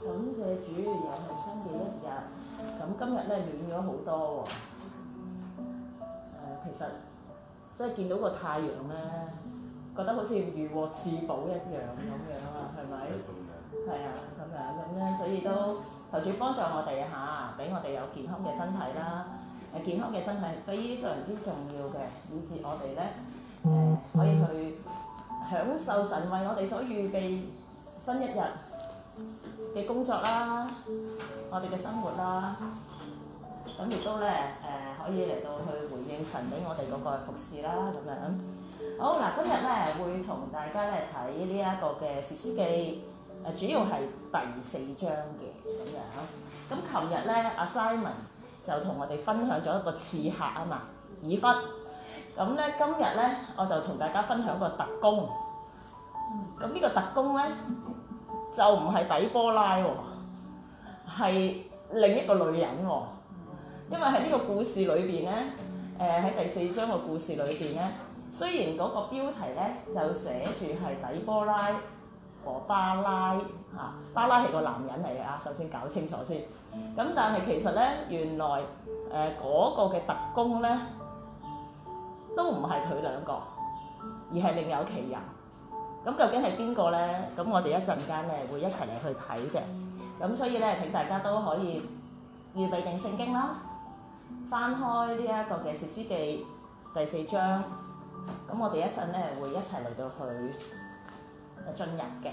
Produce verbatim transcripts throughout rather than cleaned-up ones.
感謝主，又係新嘅一日。咁今日咧暖咗好多喎。誒、呃，其實即係見到個太陽咧，覺得好似如獲至寶一樣咁樣啊，係咪？係啊，咁樣咁咧，所以都求主幫助我哋嚇，俾我哋有健康嘅身體啦。誒，健康嘅身體係非常之重要嘅，以致我哋咧誒可以去享受神為我哋所預備新一日嘅工作啦，我哋嘅生活啦，咁亦都咧誒、呃、可以嚟到去回應神俾我哋嗰個服侍啦，咁樣。好嗱，今日咧會同大家咧睇呢一個嘅士師記，誒主要係第四章嘅咁樣。咁琴日咧阿 Simon 就同我哋分享咗一個刺客啊嘛，以弗。咁咧今日咧我就同大家分享個特工。咁呢個特工咧就唔係底波拉喎，係另一個女人喎。因為喺呢個故事裏邊咧，誒、呃、喺第四章個故事裏邊咧，雖然嗰個標題咧就寫住係底波拉和巴拉嚇、啊，巴拉係個男人嚟嘅啊，首先搞清楚先。咁但係其實咧，原來誒嗰、呃那個嘅特工咧都唔係佢兩個，而係另有其人。咁究竟係邊個咧？咁我哋一陣間咧會一齊嚟去睇嘅。咁所以咧，請大家都可以預備定聖經啦，翻開呢一個嘅士師記第四章。咁我哋一陣咧會一齊嚟到去進入嘅。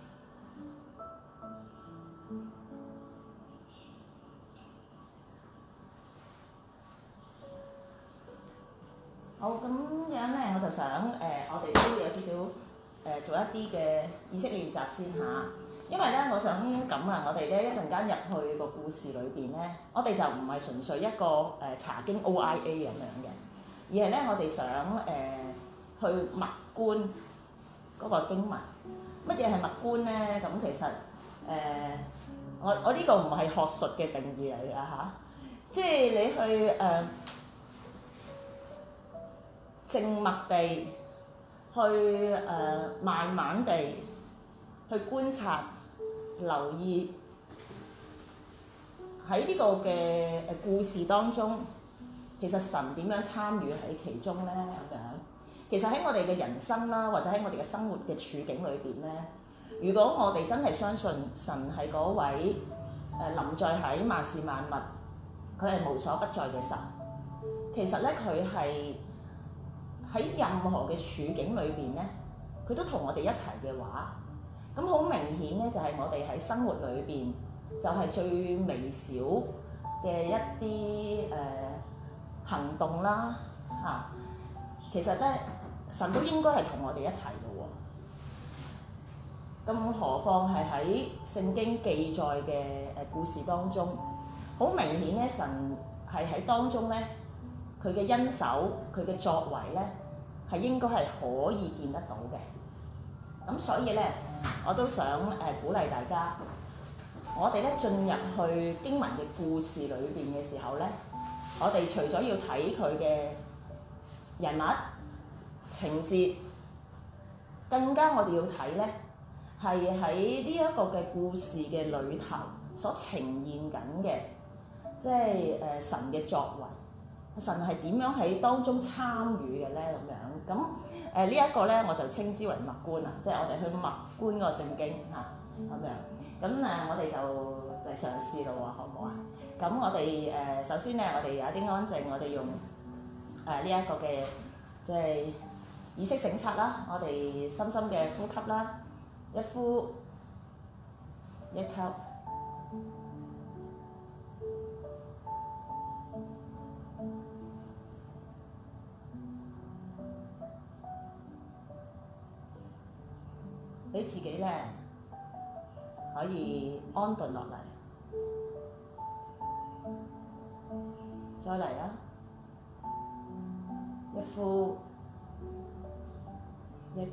好，咁樣咧我就想誒、呃，我哋都有少少。誒、呃、做一啲嘅意識練習先嚇，因為咧我想咁啊，我哋咧一陣間入去個故事裏邊咧，我哋就唔係純粹一個誒、呃、查經 O I A 咁樣嘅，而係咧我哋想誒、呃、去默觀嗰個經文。乜嘢係默觀咧？咁其實誒、呃、我我呢個唔係學術嘅定義嚟㗎嚇，即係你去誒、呃、靜默地。去誒、呃、慢慢地去觀察、留意喺呢個嘅誒故事當中，其實神點樣參與喺其中咧？咁樣其實喺我哋嘅人生啦，或者喺我哋嘅生活嘅處境裏邊咧，如果我哋真係相信神係嗰位誒臨在喺萬事萬物，佢係無所不在嘅神，其實咧佢係。喺任何嘅處境裏邊咧，佢都同我哋一齊嘅話，咁好明顯咧，就係我哋喺生活裏邊，就係最微小嘅一啲誒、呃、行動啦嚇、啊。其實咧，神都應該係同我哋一齊嘅喎。咁何況係喺聖經記載嘅誒故事當中，好明顯咧，神係喺當中咧，佢嘅恩手，佢嘅作為咧。係應該係可以見得到嘅，咁所以咧，我都想誒、呃、鼓勵大家，我哋咧進入去經文嘅故事裏邊嘅時候咧，我哋除咗要睇佢嘅人物情節，更加我哋要睇咧係喺呢一個嘅故事嘅裏頭所呈現緊嘅，即係誒、呃、神嘅作為。神係點樣喺當中參與嘅咧？咁樣咁誒、呃這個、呢一個咧，我就稱之為默觀啊，即係我哋去默觀個聖經嚇咁樣。咁誒、呃，我哋就嚟嘗試咯喎，好唔好啊？咁我哋誒、呃、首先咧，我哋有一啲安靜，我哋用誒呢一個嘅即係意識省察啦，我哋深深嘅呼吸啦，一呼一吸。俾自己咧可以安頓落嚟，再嚟啊！一呼一吸，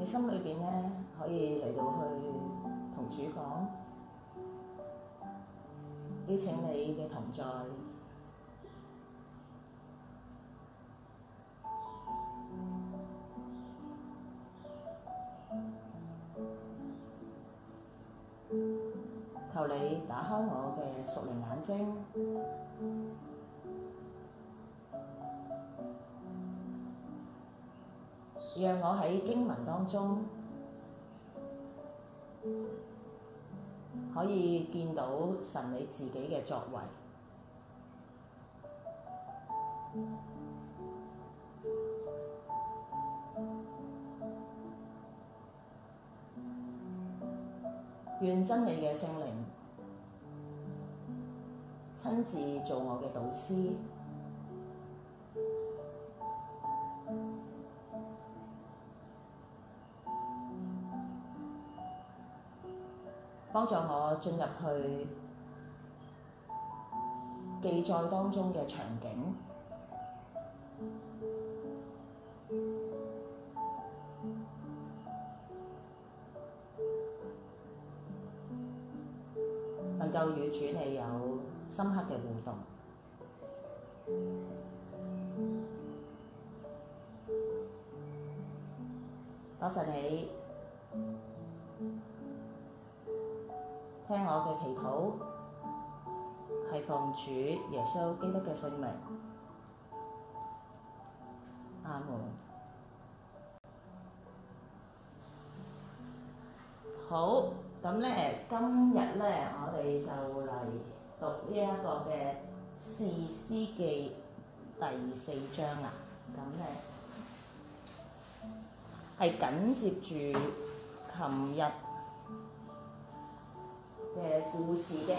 你心裏邊咧可以嚟到去同主講，邀請你嘅同在。求你打開我嘅屬靈眼睛，讓我喺經文當中可以見到神你自己嘅作為。願真理嘅聖靈親自做我嘅導師，幫助我進入去記載當中嘅場景，能夠與主你有深刻嘅互動。多謝你聽我嘅祈禱，係奉主耶穌基督嘅聖名。阿門。好，咁咧今日咧我哋就嚟讀呢一個嘅士師記第四章啦。咁咧係緊接住琴日嘅故事嘅。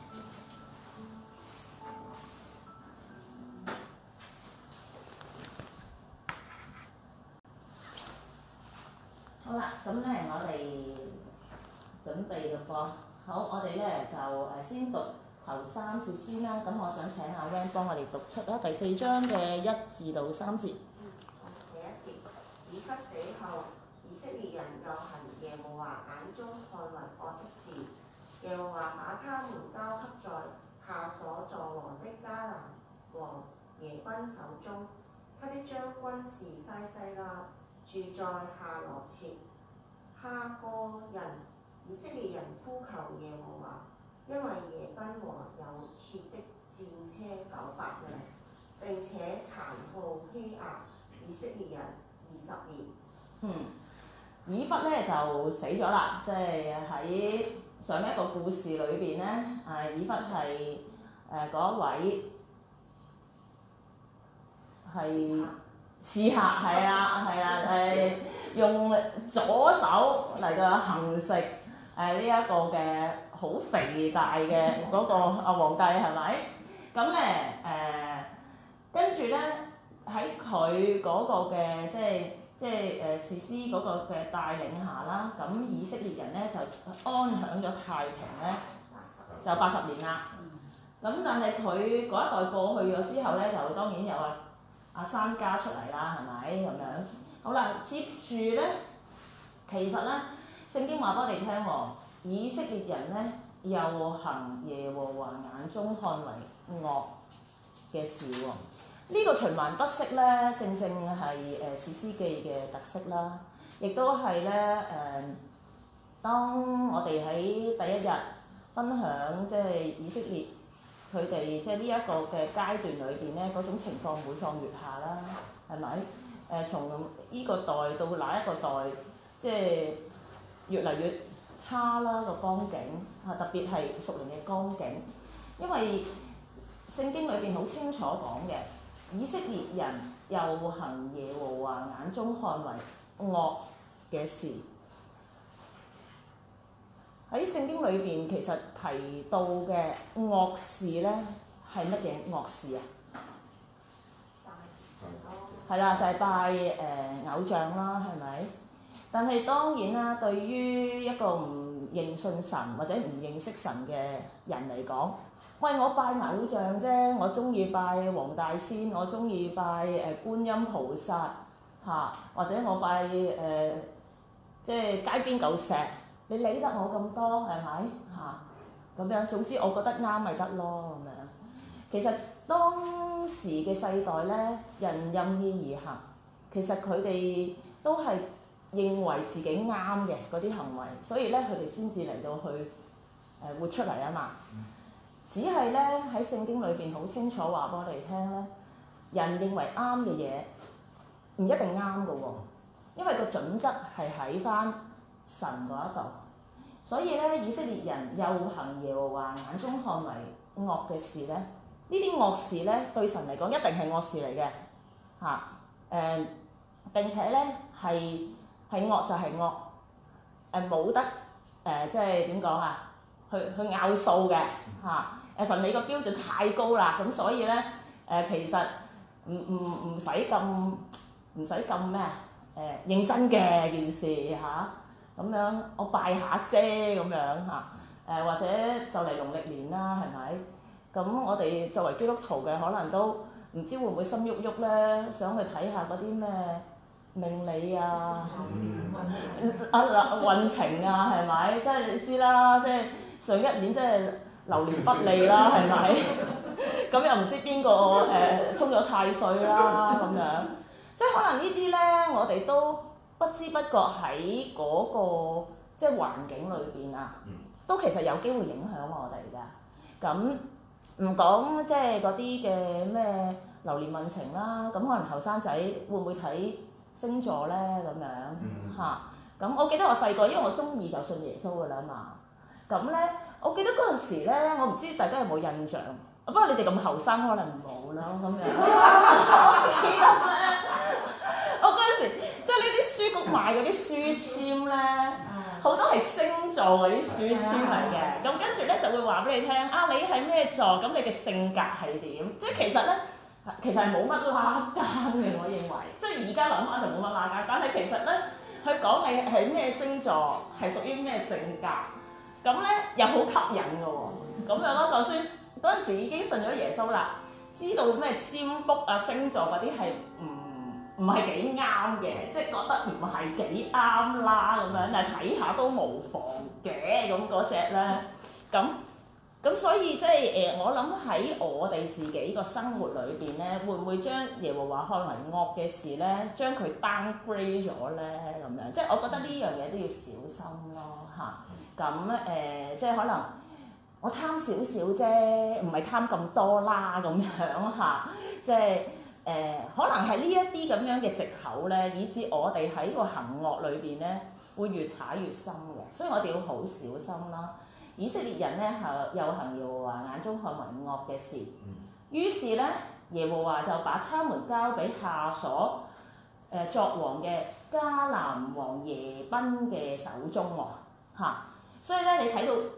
好啦，咁咧我哋準備嘅噃。好，我哋咧就誒先讀頭三節先啦。咁我想請阿 Van 幫我哋讀出啦，第四章嘅一至到三節。 第一節，以笏死後，以色列人又行耶和華眼中看為惡的事。耶和華把他們交給在夏瑣作王的迦南王耶賓手中。他的將軍是西西拉，住在夏羅設。哈哥人以色列人呼求耶和華，因為耶賓王有鐵的戰車九百輛，並且殘酷欺壓以色列人二十年。 嗯，以笏咧就死咗啦，即係喺上一個故事裏邊咧，誒以笏係誒嗰一位係刺客，係啊係啊誒用左手嚟到行食誒呢一個嘅好肥大嘅嗰個阿皇帝係咪？咁咧誒跟住咧喺佢嗰個嘅即係。即係誒士師嗰個嘅帶領下啦，咁以色列人咧就安享咗太平咧，就八十年啦。咁但係佢嗰一代過去咗之後咧，就當然有阿阿珊迦出嚟啦，係咪咁樣？好啦，接住咧，其實咧聖經話俾我哋聽喎，以色列人咧又行耶和華眼中看為惡嘅事喎。呢個循環不息咧，正正係誒士師記嘅特色啦，亦都係咧誒，當我哋喺第一日分享即係以色列佢哋即係呢一個嘅階段裏邊咧，嗰種情況每況愈下啦，係咪？誒、呃、從呢個代到那一個代，即係越嚟越差啦個光景嚇，特別係屬靈嘅光景，因為聖經裏邊好清楚講嘅。以色列人又行耶和華眼中看為惡嘅事。喺聖經裏邊其實提到嘅惡事咧係乜嘢惡事啊？係啦，就係、是、拜誒、呃、偶像啦，係咪？但係當然啦，對於一個唔認信神或者唔認識神嘅人嚟講，喂，我拜偶像啫，我中意拜黃大仙，我中意拜誒觀音菩薩嚇，或者我拜誒即係街邊嚿石，你理得我咁多係咪嚇？咁樣總之我覺得啱咪得咯咁樣。其實當時嘅世代咧，人任意而行，其實佢哋都係認為自己啱嘅嗰啲行為，所以咧佢哋先至嚟到去誒、呃、活出嚟啊嘛。只係咧喺聖經裏邊好清楚話俾我哋聽咧，人認為啱嘅嘢唔一定啱嘅喎，因為個準則係喺翻神嗰一度。所以咧，以色列人又行耶和華眼中看為惡嘅事咧，呢啲惡事咧對神嚟講一定係惡事嚟嘅嚇誒，並且咧係係惡就係惡誒，冇、呃、得誒、呃，即係點講啊？去去拗數嘅嚇誒，神你個標準太高啦，咁所以咧誒、呃，其實唔唔唔使咁唔使咁咩啊誒認真嘅件事嚇。啊咁樣我拜下啫咁樣嚇，誒或者就嚟農曆年啦，係咪？咁我哋作為基督徒嘅，可能都唔知會唔會心喐喐咧，想去睇下嗰啲咩命理啊、啊嗱運程啊，係咪？即係你知啦，即係上一年即係流年不利啦，係咪？咁又唔知邊個誒沖咗太歲啦咁樣，即係可能呢啲咧，我哋都不知不覺喺嗰個即係環境裏邊啊，都其實有機會影響我哋㗎。咁唔講即係嗰啲嘅咩流年運程啦，咁可能後生仔會唔會睇星座咧咁樣嚇？咁、嗯、我記得我細個，因為我中意就信耶穌㗎啦嘛。咁咧，我記得嗰陣時咧，我唔知大家有冇印象，不過你哋咁後生可能冇啦咁樣。我記得咧，我嗰陣時即係呢啲書局賣嗰啲書籤咧，好多係星座嗰啲書籤嚟嘅。咁跟住咧就會話俾你聽啊，你係咩座？咁你嘅性格係點？即係其實咧，其實係冇乜拉更嘅，我認為。即係而家諗下就冇乜拉更，但係其實咧，佢講你係咩星座，係屬於咩性格，咁咧又好吸引嘅喎。咁樣咯，就算嗰陣時已經信咗耶穌啦，知道咩占卜啊、星座嗰啲係唔唔係幾啱嘅，即係覺得唔係幾啱啦咁樣，但係睇下都無妨嘅咁嗰隻咧。咁咁所以即係誒，我諗喺我哋自己個生活裏邊咧，會唔會將耶和華看為惡嘅事咧，將佢 downgrade 咗咧咁樣？即係我覺得呢樣嘢都要小心咯嚇。咁、啊、誒、呃，即係可能我貪少少啫，唔係貪咁多啦咁樣嚇、啊。即係誒、呃，可能係呢一啲咁樣嘅藉口咧，以致我哋喺個行惡裏邊咧，會越踩越深嘅。所以我哋要好小心啦。以色列人咧係又行耶和華眼中看為惡嘅事，於是咧耶和華就把他們交俾夏所誒、呃、作王嘅迦南王耶賓嘅手中喎嚇。所以咧你睇到誒嗰、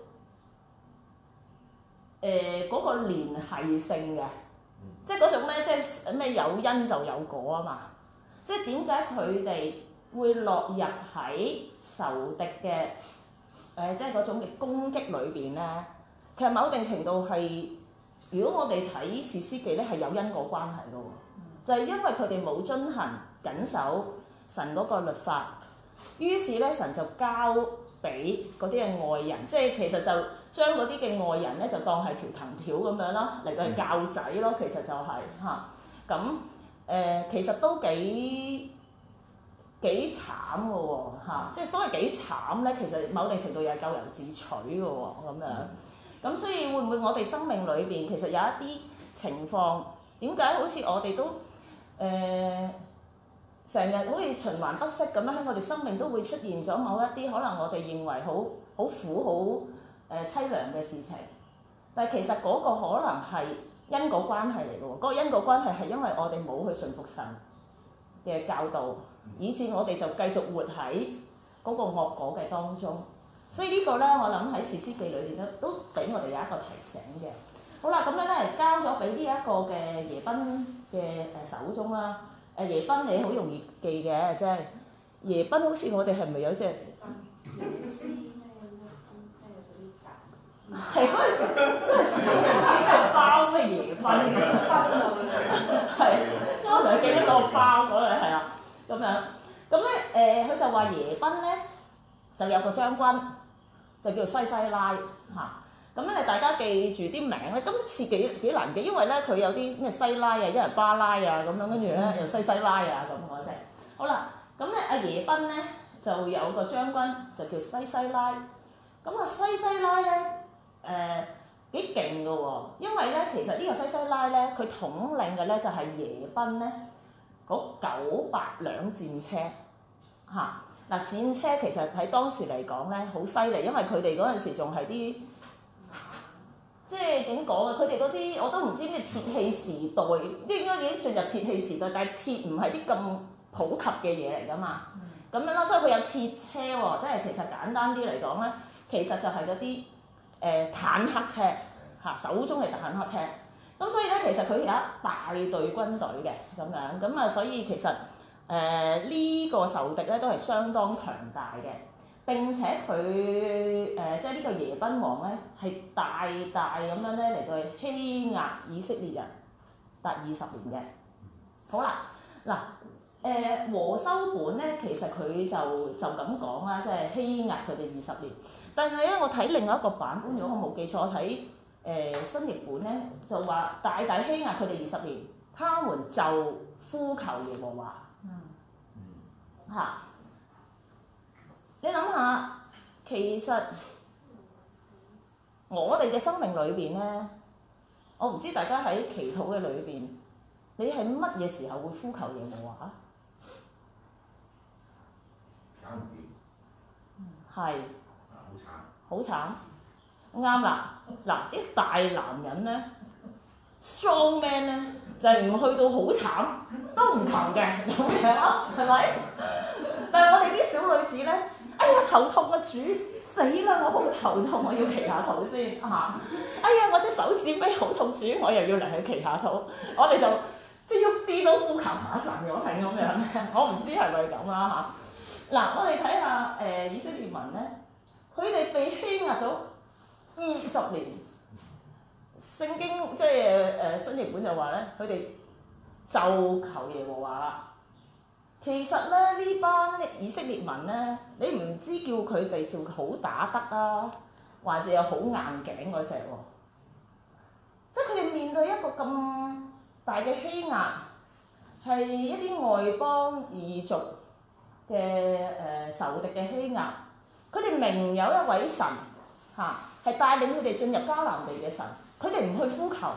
呃那個連繫性嘅，即係嗰種咧，即係咩有因就有果啊嘛。即係點解佢哋會落入喺仇敵嘅？誒、呃，即係嗰種嘅攻擊裏邊咧，其實某定程度係，如果我哋睇士師記咧，係有因果關係嘅喎，就係、是、因為佢哋冇遵行緊守神嗰個律法，於是咧神就交俾嗰啲嘅外人，即係其實就將嗰啲嘅外人咧就當係條藤條咁樣咯，嚟到係教仔咯，其實就係、是、嚇，咁、啊、誒、呃、其實都幾幾慘嘅喎嚇，即係所謂幾慘咧，其實某定程度又係咎由自取嘅喎咁樣。咁所以會唔會我哋生命裏邊其實有一啲情況，點解好似我哋都誒成日好似循環不息咁樣，喺我哋生命都會出現咗某一啲可能我哋認為好好苦好誒淒涼嘅事情，但係其實嗰個可能係因果關係嚟嘅喎。嗰個因果關係係因為我哋冇去順服神嘅教導，以致我哋就繼續活喺嗰個惡果嘅當中，所以呢個咧，我諗喺士師記裏邊咧，都俾我哋有一個提醒嘅。好啦，咁樣咧交咗俾呢一個嘅耶賓嘅誒手中啦。誒耶賓你好容易記嘅，即係耶賓好似我哋係咪有隻？係嗰陣時，嗰陣時有成日喺度包咩耶賓嘅，係，即係我成日記得嗰個包嗰樣係啊，咁樣，咁咧誒佢就話耶賓咧就有個將軍就叫西西拉嚇。咁咧大家記住啲名咧，今次幾幾難記，因為咧佢有啲咩西拉啊，一係巴拉啊咁樣，跟住咧又西西拉啊咁嗰隻。好啦，咁咧阿耶賓咧就有個將軍就叫西西拉。咁啊西西拉咧誒幾勁㗎喎，因為咧其實呢個西西拉咧佢統領嘅咧就係耶賓咧嗰九百輛戰車嚇。嗱、啊、戰車其實喺當時嚟講咧好犀利，因為佢哋嗰陣時仲係啲。即係點講啊？佢哋嗰啲我都唔知咩鐵器時代，應該已經進入鐵器時代，但係鐵唔係啲咁普及嘅嘢嚟㗎嘛。咁樣啦，所以佢有鐵車喎，即係其實簡單啲嚟講咧，其實就係嗰啲誒坦克車嚇，手中嘅坦克車。咁所以咧，其實佢有一大隊軍隊嘅咁樣，咁啊，所以其實誒呢、呃呢個仇敵咧都係相當強大嘅。並且佢誒、呃、即係呢個耶賓王咧，係大大咁樣咧嚟到去欺壓以色列人達二十年嘅。好啦，嗱誒和修本咧，其實佢就就咁講啦，即係欺壓佢哋二十年。但係咧，我睇另外一個版本，如果我冇記錯，我睇誒、呃、新譯本咧就話大大欺壓佢哋二十年，他們就呼求耶和華。嗯。嚇！你諗下，其實我哋嘅生命裏邊咧，我唔知大家喺祈禱嘅裏邊，你係乜嘢時候會呼求耶和華？ 搞唔掂。 係。 啊，好慘。 好慘。啱啦，嗱啲大男人咧 ，strong man 咧，就係、是、唔去到好慘都唔求嘅咁樣咯，係咪？但係我哋啲小女子咧。哎呀頭痛啊主，死啦我好頭痛，我要祈下禱先嚇、啊。哎呀我隻手指尾好痛主，我又要嚟去祈下禱。我哋就即係喐啲都呼求下神，我係咁樣。我唔知係咪咁啦嚇。嗱、啊、我哋睇下誒以色列民咧，佢哋被欺壓咗二十年。聖經即係誒新譯本就話咧，佢哋就求耶和華啦。其實咧，呢班以色列民咧，你唔知叫佢哋做好打得啊，還是有好硬頸嗰隻喎？即係佢哋面對一個咁大嘅欺壓，係一啲外邦異族嘅誒、呃、仇敵嘅欺壓。佢哋明有一位神嚇，係、啊、帶領佢哋進入迦南地嘅神，佢哋唔去呼求，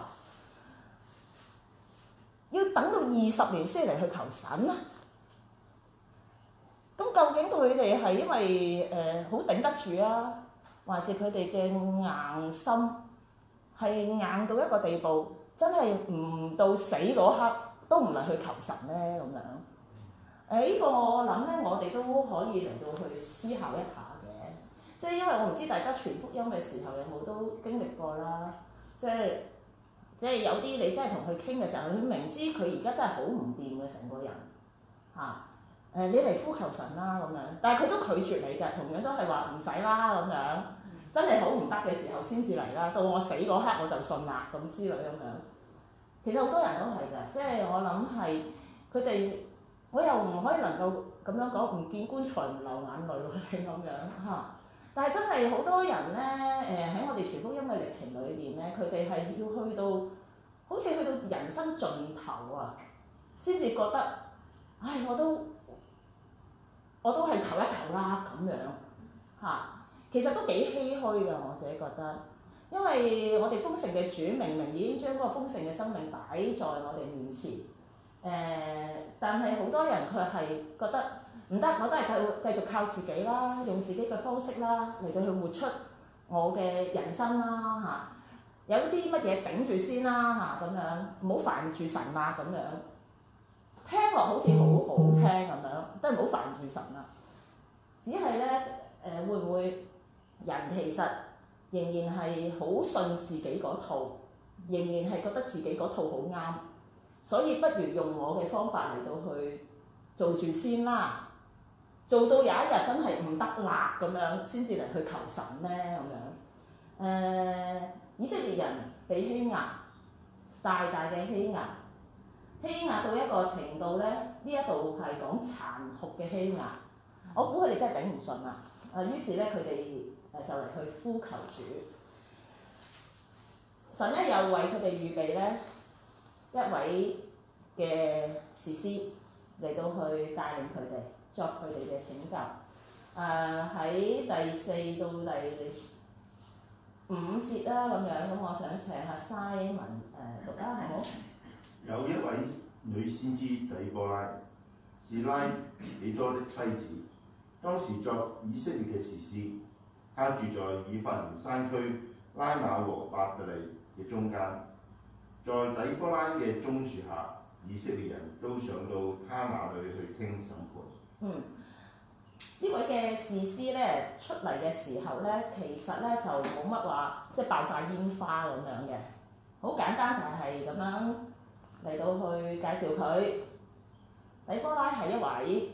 要等到二十年先嚟去求神啊！咁究竟佢哋係因為誒好頂得住啊，還是佢哋嘅硬心係硬到一個地步，真係唔到死嗰刻都唔係去求神咧咁樣？誒、呃、呢、這個我諗咧，我哋都可以嚟到去思考一下嘅。即係因為我唔知大家傳福音嘅時候有冇都經歷過啦。即係即係有啲你真係同佢傾嘅時候，佢明知佢而家真係好唔掂嘅成個人嚇。啊誒、呃、你嚟呼求神啦咁樣，但係佢都拒絕你㗎，同樣都係話唔使啦咁樣，真係好唔得嘅時候先至嚟啦，到我死嗰刻我就信啦咁之類咁樣。其實好多人都係㗎，即係我諗係佢哋，我又唔可以能夠咁樣講，唔見棺材唔流眼淚嗰啲咁樣嚇。但係真係好多人咧，誒、呃、喺我哋傳福音嘅歷程裏邊咧，佢哋係要去到好似去到人生盡頭啊，先至覺得，唉我都〜我都係求一求啦咁樣嚇，其實都幾唏噓㗎，我自己覺得，因為我哋豐盛嘅主明明已經將嗰個豐盛嘅生命擺在我哋面前，誒、呃，但係好多人佢係覺得唔得，我都係繼繼續靠自己啦，用自己嘅方式啦嚟到去活出我嘅人生啦嚇、啊，有啲乜嘢頂住先啦嚇咁樣，唔好煩住神啦咁樣。聽落好似好好聽咁樣，都係唔好煩住神啦。只係咧，誒、呃、會唔會人其實仍然係好信自己嗰套，仍然係覺得自己嗰套好啱，所以不如用我嘅方法嚟到去做住先啦。做到有一日真係唔得啦咁樣，先至嚟去求神咧咁樣。誒、呃，以色列人被欺壓，大大嘅欺壓。欺壓到一個程度咧，呢一度係講殘酷嘅欺壓。我估佢哋真係頂唔順啦。 啊，於是咧佢哋誒就嚟去呼求主。神咧又為佢哋預備咧一位嘅士師嚟到去帶領佢哋，作佢哋嘅拯救。誒、呃、喺第四到第五節啦咁樣，咁我想請阿 Simon 誒讀啦，好唔好？ 有一位女先知底波拉，是拉比多的妻子，當時作以色列嘅士師，她住在以法蓮山區拉瑪和伯特利嘅中間，在底波拉嘅棕樹下，以色列人都上到他那裡去聽審判。 嗯，呢位嘅士師咧出嚟嘅時候咧，其實咧就冇乜話，即係爆晒煙花咁樣嘅，好簡單就係咁樣嚟到去介紹佢。底波拉係一位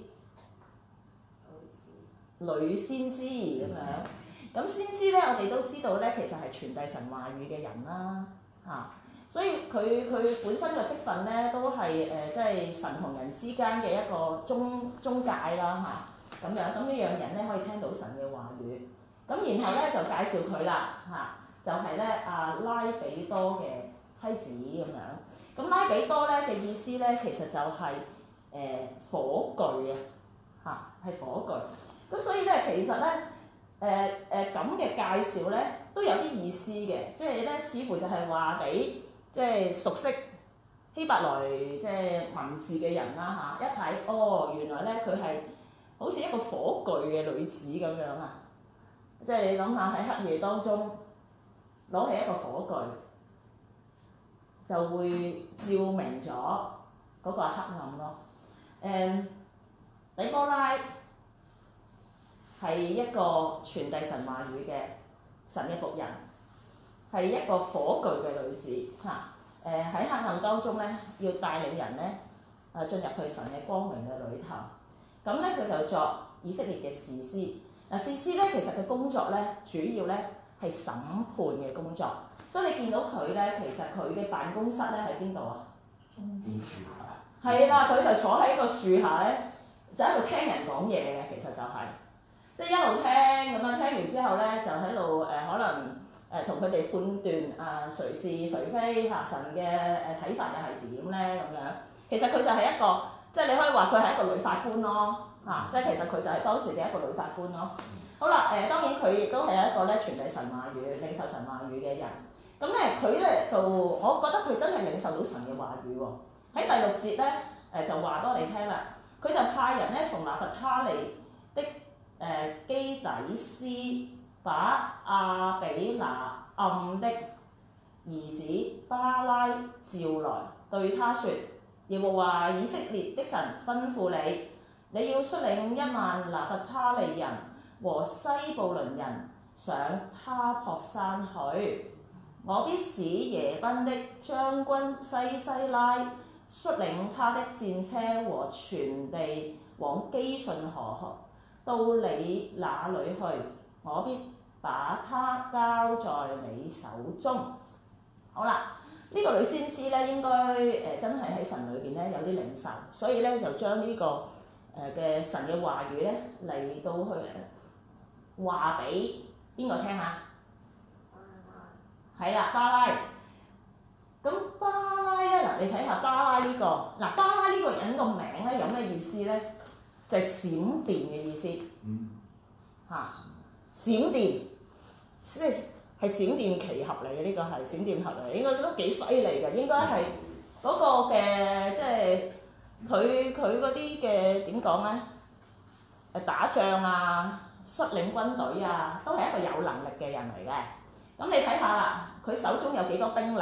女先知咁樣，咁先知咧我哋都知道咧，其實係傳遞神話語嘅人啦，嚇、啊，所以佢佢本身嘅職份咧都係誒即係神同人之間嘅一個中中介啦嚇，咁、啊、樣，咁呢樣人咧可以聽到神嘅話語，咁然後咧就介紹佢啦嚇，就係咧阿拉比多嘅妻子咁樣，咁拉比多咧嘅意思咧其實就係、是。誒、呃、火炬啊，嚇係火炬，咁所以咧其實咧誒誒咁嘅介紹咧都有啲意思嘅，即係咧似乎就係話俾即係熟悉希伯來即係文字嘅人啦嚇，一睇哦原來咧佢係好似一個火炬嘅女子咁樣啊，即係你諗下喺黑夜當中攞起一個火炬，就會照明咗嗰個黑暗咯。誒、嗯，底波拉係一個傳遞神話語嘅神嘅僕人，係一個火炬嘅女子嚇。誒、啊、喺黑暗當中咧，要帶領人咧啊進入去神嘅光明嘅裏頭。咁咧佢就作以色列嘅士師。嗱、啊、士師咧其實嘅工作咧主要咧係審判嘅工作，所以你見到佢咧其實佢嘅辦公室咧喺邊度啊？ 棕樹下。 係啦，佢就坐喺個樹下咧，就喺度聽人講嘢嘅，其實就係、是，即係一路聽咁樣，聽完之後咧就喺度誒可能誒同佢哋判斷啊誰是誰非嚇，神嘅誒睇法又係點咧咁樣。其實佢就係一個，即係你可以話佢係一個女法官咯嚇、啊，即係其實佢就係當時嘅一個女法官咯。好啦，誒、呃、當然佢亦都係一個咧傳遞神話語、領受神話語嘅人。咁咧佢咧就，我覺得佢真係領受到神嘅話語喎。喺第六節咧，誒、呃、就話多你聽啦。佢就派人咧從拿弗他利的誒、呃、基底斯，把亞比拿暗的兒子巴拉召來，對他說：耶和華以色列的神吩咐你，你要率領一萬拿弗他利人和西布倫人上他泊山去。我必使耶賓的將軍西西拉率領他的戰車和全地往基順河到你那裡去，我必把他交在你手中。好啦，呢、這個女先知咧應該誒、呃、真係喺神裏邊咧有啲領受，所以咧就將呢、這個誒嘅、呃、神嘅話語咧嚟到去話俾邊個聽啊？係啦，巴拉。咁巴拉咧，嗱你睇下巴拉呢、這個，嗱巴拉呢個人個名咧有咩意思咧？就係、是、閃電嘅意思。嗯。嚇、啊！閃電，即係係閃電奇俠嚟嘅，呢個係閃電俠嚟，應該都幾犀利嘅，應該係嗰個嘅即係佢佢嗰啲嘅點講咧？誒打仗啊，率領軍隊啊，都係一個有能力嘅人嚟嘅。咁你睇下啦，佢手中有幾多兵力？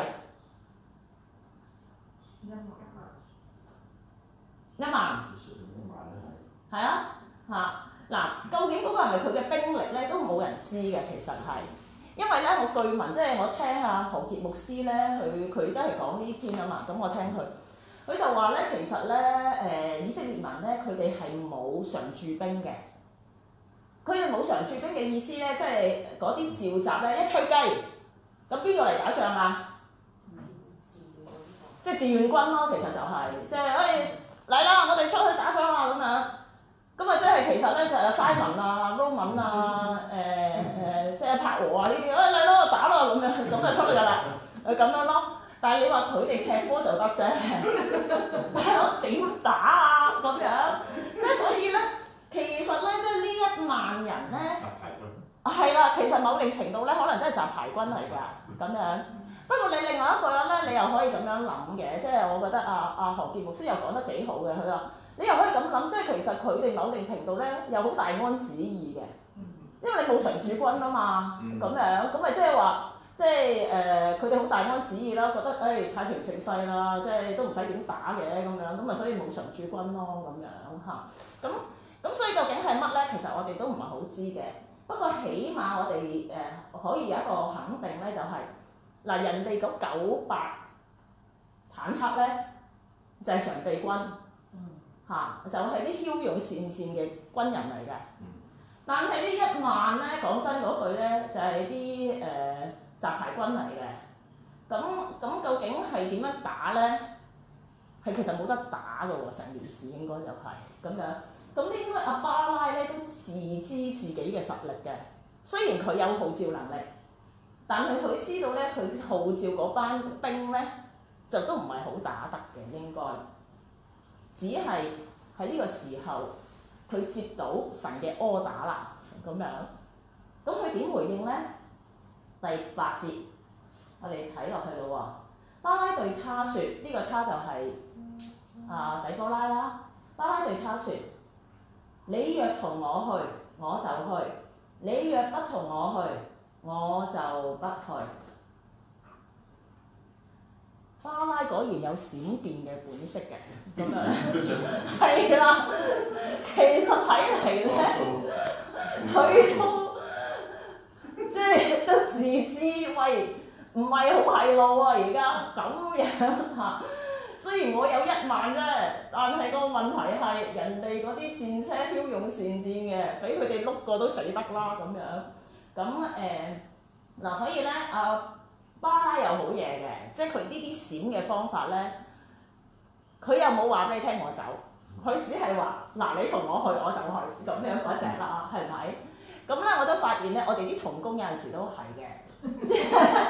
一萬。一萬。係啊，嚇嗱，究竟嗰個係咪佢嘅兵力咧？都冇人知嘅，其實係，因為咧我據聞，即係我聽阿何傑牧師咧，佢佢都係講呢篇啊嘛，咁我聽佢，佢就話咧，其實咧誒、呃、以色列民咧，佢哋係冇常駐兵嘅。佢哋冇常駐兵嘅意思咧，即係嗰啲召集咧一吹雞，咁邊個嚟打仗啊？即係志願軍咯，其實就係、是，即係誒嚟啦，我哋出去打仗啊咁樣。 咁啊，即係其實咧就有 Simon 啊、Roman 啊、誒、誒，即係柏和啊呢啲，誒嚟咯打咯咁樣，咁就出嚟㗎啦，誒咁樣咯。但係你話佢哋踢波就得啫，係咯，點打啊咁樣？即係所以咧，其實咧，即係呢一萬人咧，係啦，其實某定程度咧，可能真係雜牌軍嚟㗎咁樣。不過你另外一個咧，你又可以咁樣諗嘅，即係我覺得啊啊何傑牧師又講得幾好嘅，佢話你又可以咁諗，即係其實佢哋某定程度咧有好大安旨意嘅，因為你冇常駐軍啊嘛，咁樣咁咪即係話。即係誒，佢哋好大安旨意啦，覺得誒、哎、太平盛世啦，即係都唔使點打嘅咁樣，咁啊所以冇常駐軍咯咁樣嚇。咁咁所以究竟係乜咧？其實我哋都唔係好知嘅。不過起碼我哋誒、呃、可以有一個肯定咧，就係、是、嗱人哋嗰九百坦克咧就係、是、常備軍嚇、啊，就係、是、啲驍勇善戰嘅軍人嚟嘅。但係呢一萬咧，講真嗰句咧，就係啲誒。呃雜牌軍嚟嘅，咁咁究竟係點樣打咧？係其實冇得打㗎喎，成件事應該就係、是、咁樣。咁應該阿巴拉咧都自知自己嘅實力嘅，雖然佢有號召能力，但係佢知道咧，佢號召嗰班兵咧就都唔係好打得嘅，應該。只係喺呢個時候，佢接到神嘅柯打啦，咁樣。咁佢點回應咧？第八節，我哋睇落去咯喎。巴拉對他說：呢、這個他就係、是、啊底波拉啦。巴拉對他說：你若同我去，我就去；你若不同我去，我就不去。巴拉果然有閃電嘅本色嘅，咁樣係啦。其實睇嚟咧，佢都。即係都自知喂，唔係好係路啊！而家咁樣嚇，雖然我有一萬啫，但係個問題係人哋嗰啲戰車驍勇善戰嘅，俾佢哋碌過都死得啦咁樣。咁誒嗱，所以咧啊巴拉有好嘢嘅，即係佢呢啲閃嘅方法咧，佢又冇話俾你聽我走，佢只係話嗱你同我去我就去咁樣嗰隻啦，係咪？咁咧，我都發現咧，我哋啲同工有陣時都係嘅。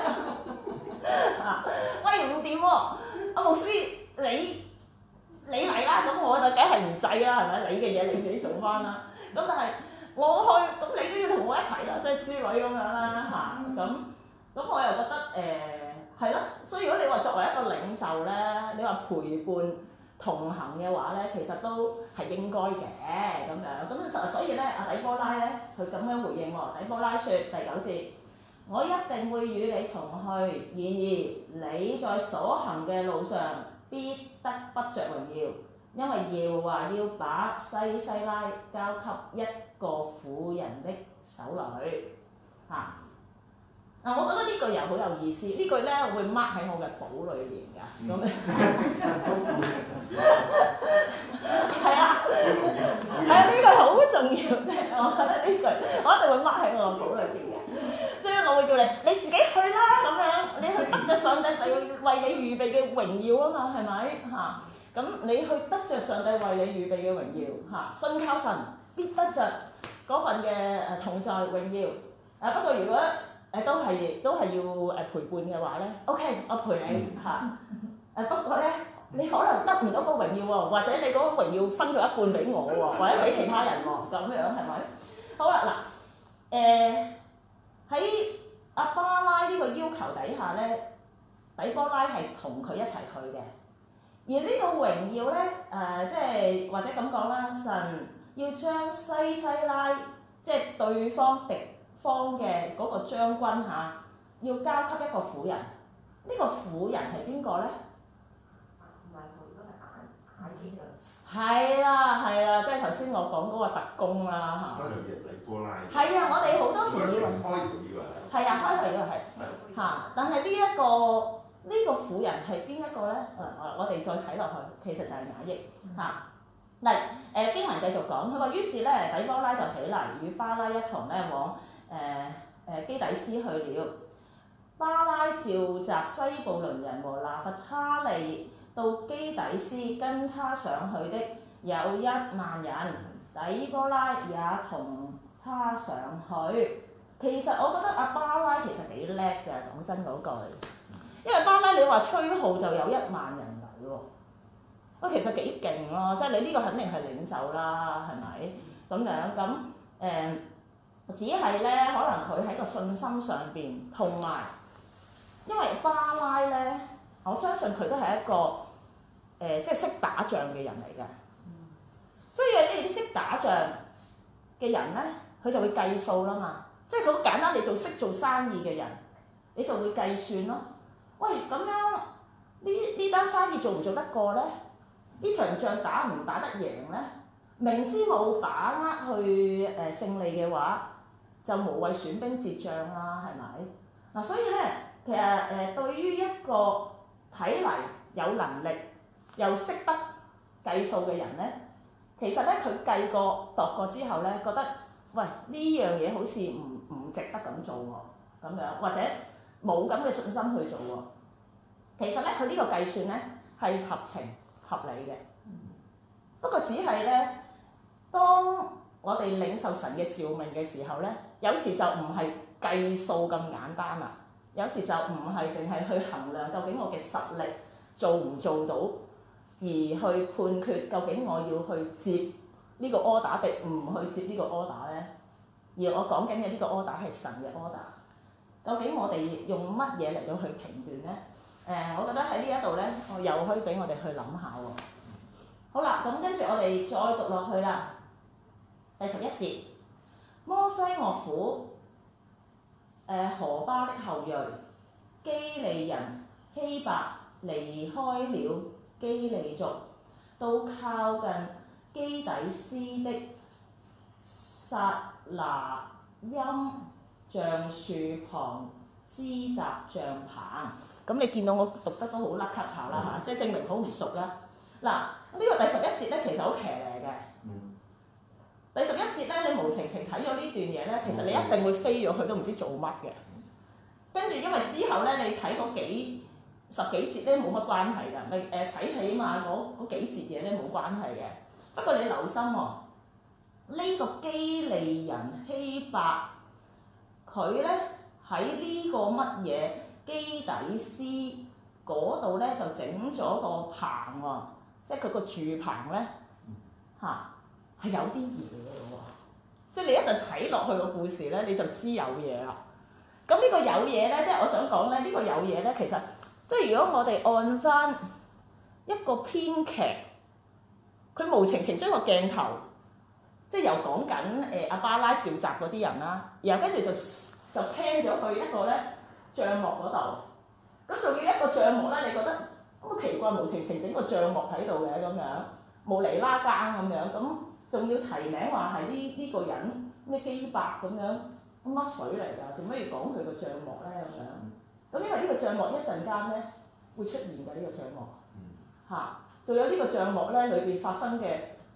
啊，喂唔掂喎，阿牧師你你嚟啦，咁我就梗係唔制啦，係咪？你嘅嘢你自己做翻啦。咁但係我去，咁你都要同我一齊啦，即係之類咁樣啦嚇。咁咁我又覺得誒係咯，所以如果你話作為一個領袖咧，你話陪伴同行嘅話咧，其實都係應該嘅咁樣。咁所以咧，阿底波拉咧，佢咁樣回應喎。底波拉說第九節：我一定會與你同去，然而你在所行嘅路上必得不着榮耀，因為耶和華要把西西拉交給一個婦人的手裏。嚇、啊！嗱，我覺得呢句又好有意思，呢句咧會 mark 喺我嘅簿裏邊㗎。咁係啊，係啊，呢句好重要，即係我覺得呢句我一定會 mark 喺我嘅簿裏邊嘅。即係我會叫你你自己去啦，咁樣你去得着上帝為為你預備嘅榮耀啊嘛，係咪嚇？咁你去得着上帝為你預備嘅榮耀嚇，信靠神必得着嗰份嘅誒同在榮耀。誒不過如果誒都係都係要誒陪伴嘅話咧 ，OK， 我陪你嚇。誒不過咧，你可能得唔到個榮耀喎，或者你嗰個榮耀分咗一半俾我喎，或者俾其他人喎，咁樣係咪？好啦，嗱，誒喺阿巴拉呢個要求底下咧，底波拉係同佢一齊去嘅。而呢個榮耀咧，誒、呃、即係或者咁講啦，神要將西西拉即係對方敵方嘅嗰個將軍嚇，要交給一個婦人。呢、這個婦人係邊個咧？ 唔係佢，都係眼眼見嘅。係啦係啦，即係頭先我講嗰個特工啦嚇。 開頭以為底波拉。係啊，我哋好多時以為。 開頭以為。係啊，開頭以為係嚇，但係呢一個呢、這個婦人係邊一個咧？誒、呃，我哋再睇落去，其實就係雅億嚇。嗱、啊，誒、呃、經文繼續講，佢話於是咧，底波拉就起嚟，與巴拉一同咧往誒誒、呃、基底斯去了。巴拉召集西布倫人和拿弗他利到基底斯，跟他上去的有一萬人。 底波拉也同他上去。其實我覺得阿巴拉其實幾叻嘅，講真嗰句。因為巴拉你話吹號就有一萬人嚟喎，喂其實幾勁咯，即係你呢個肯定係領袖啦，係咪？咁樣咁誒、呃，只係咧可能佢喺個信心上邊，同埋因為巴拉咧，我相信佢都係一個誒、呃、即係識打仗嘅人嚟嘅，所以你哋識打仗嘅人咧，佢就會計數啦嘛，即係佢好簡單，你做識做生意嘅人，你就會計算咯。喂，咁樣呢呢單生意做唔做得過咧？呢場仗打唔打得贏咧？明知冇把握去誒、呃、勝利嘅話，就無謂損兵折將啦，係咪？嗱、啊，所以咧，其實誒、呃、對於一個睇嚟有能力又識得計數嘅人咧，其實咧佢計過度過之後咧，覺得喂呢樣嘢好似唔唔值得咁做喎，咁樣或者冇咁嘅信心去做喎。其實咧，佢呢個計算咧係合情合理嘅。不過只係咧，當我哋領受神嘅召命嘅時候咧，有時就唔係計數咁簡單啦。有時就唔係淨係去衡量究竟我嘅實力做唔做到，而去判決究竟我要去接呢個 order 定唔去接呢個 order 咧。而我講緊嘅呢個 order 係神嘅 order。究竟我哋用乜嘢嚟到去評斷咧？誒、呃，我覺得喺呢一度咧，我又可以俾我哋去諗下喎。好啦，咁跟住我哋再讀落去啦。第十一節，摩西岳父誒何巴的後裔基利人希伯離開了基利族，到靠近基底斯的撒拿音橡樹旁支搭帳棚。咁你見到我讀得都好甩咳下啦嚇，即係證明好唔熟啦。嗱，呢個第十一節咧其實好騎呢嘅。嗯、第十一節咧，你無情情睇咗呢段嘢咧，其實你一定會飛咗去，都唔知做乜嘅。跟住因為之後咧，你睇嗰幾十幾節咧冇乜關係㗎，你誒睇起碼嗰嗰幾節嘢咧冇關係嘅。不過你留心喎、哦，呢、呢個基利人希伯，佢咧喺呢個乜嘢？基底斯嗰度咧就整咗個棚喎，即係佢個住棚咧嚇係有啲嘢嘅喎，即係你一陣睇落去個故事咧你就知有嘢啦。咁呢個有嘢咧，即係我想講咧，呢、呢個有嘢咧，其實即係如果我哋按翻一個編劇，佢無情情將個鏡頭即係由講緊誒阿巴拉召集嗰啲人啦，然後跟住就就 pan 咗去一個咧。帳幕嗰度，咁仲要一個帳幕咧？你覺得好奇怪，無情情整個帳幕喺度嘅咁樣，無厘啦更咁樣，咁仲要提名話係呢呢個人咩基伯咁樣，乜水嚟㗎？做咩要講佢個帳幕咧咁樣？咁因為呢個帳幕一陣間咧會出現嘅呢、呢個帳幕，嚇，仲有呢個帳幕咧裏邊發生嘅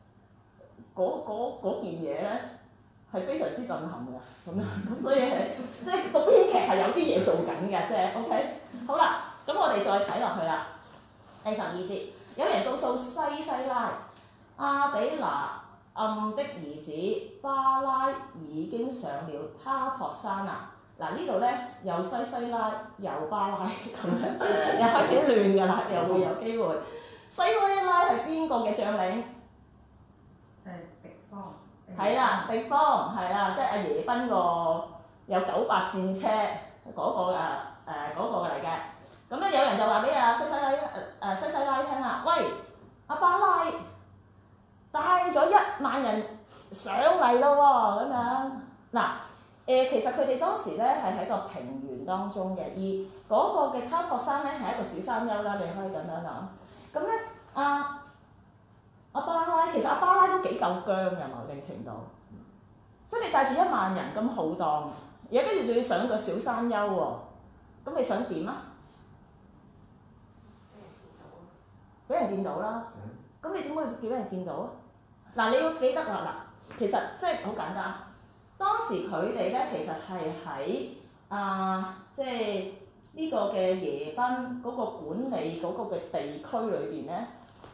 嗰件嘢咧。係非常之震撼嘅，咁樣咁所以係即係個編劇係有啲嘢做緊嘅，即係 OK。好啦，咁我哋再睇落去啦。第十二節，有人告訴西西拉，亞比拿暗的兒子巴拉已經上了他泊山啦。嗱呢度咧又西西拉又巴拉咁樣，又開始亂㗎啦，又會有機會。西西拉係邊個嘅將領？ 係敵方。 係啦，敵方係啦，即係阿耶賓個有九百戰車嗰、那個誒誒嗰個嚟嘅。咁咧有人就話俾阿西西拉誒誒西西拉聽啦，喂，阿巴拉帶咗一萬人上嚟咯喎，咁樣嗱誒、呃，其實佢哋當時咧係喺個平原當中嘅，而嗰個嘅他泊山咧係一個小山丘啦，你可以咁樣諗。咁咧阿阿巴拉其實阿巴拉都幾夠僵嘅某定程度，即係你帶住一萬人咁浩蕩，而家跟住仲要上一個小山丘喎，咁你想點啊？俾人見到啦，咁你點會叫人見到啊？嗱，你要記得啦，嗱，其實即係好簡單，當時佢哋咧其實係喺啊，即係呢個嘅耶賓嗰個管理嗰個嘅地區裏邊咧。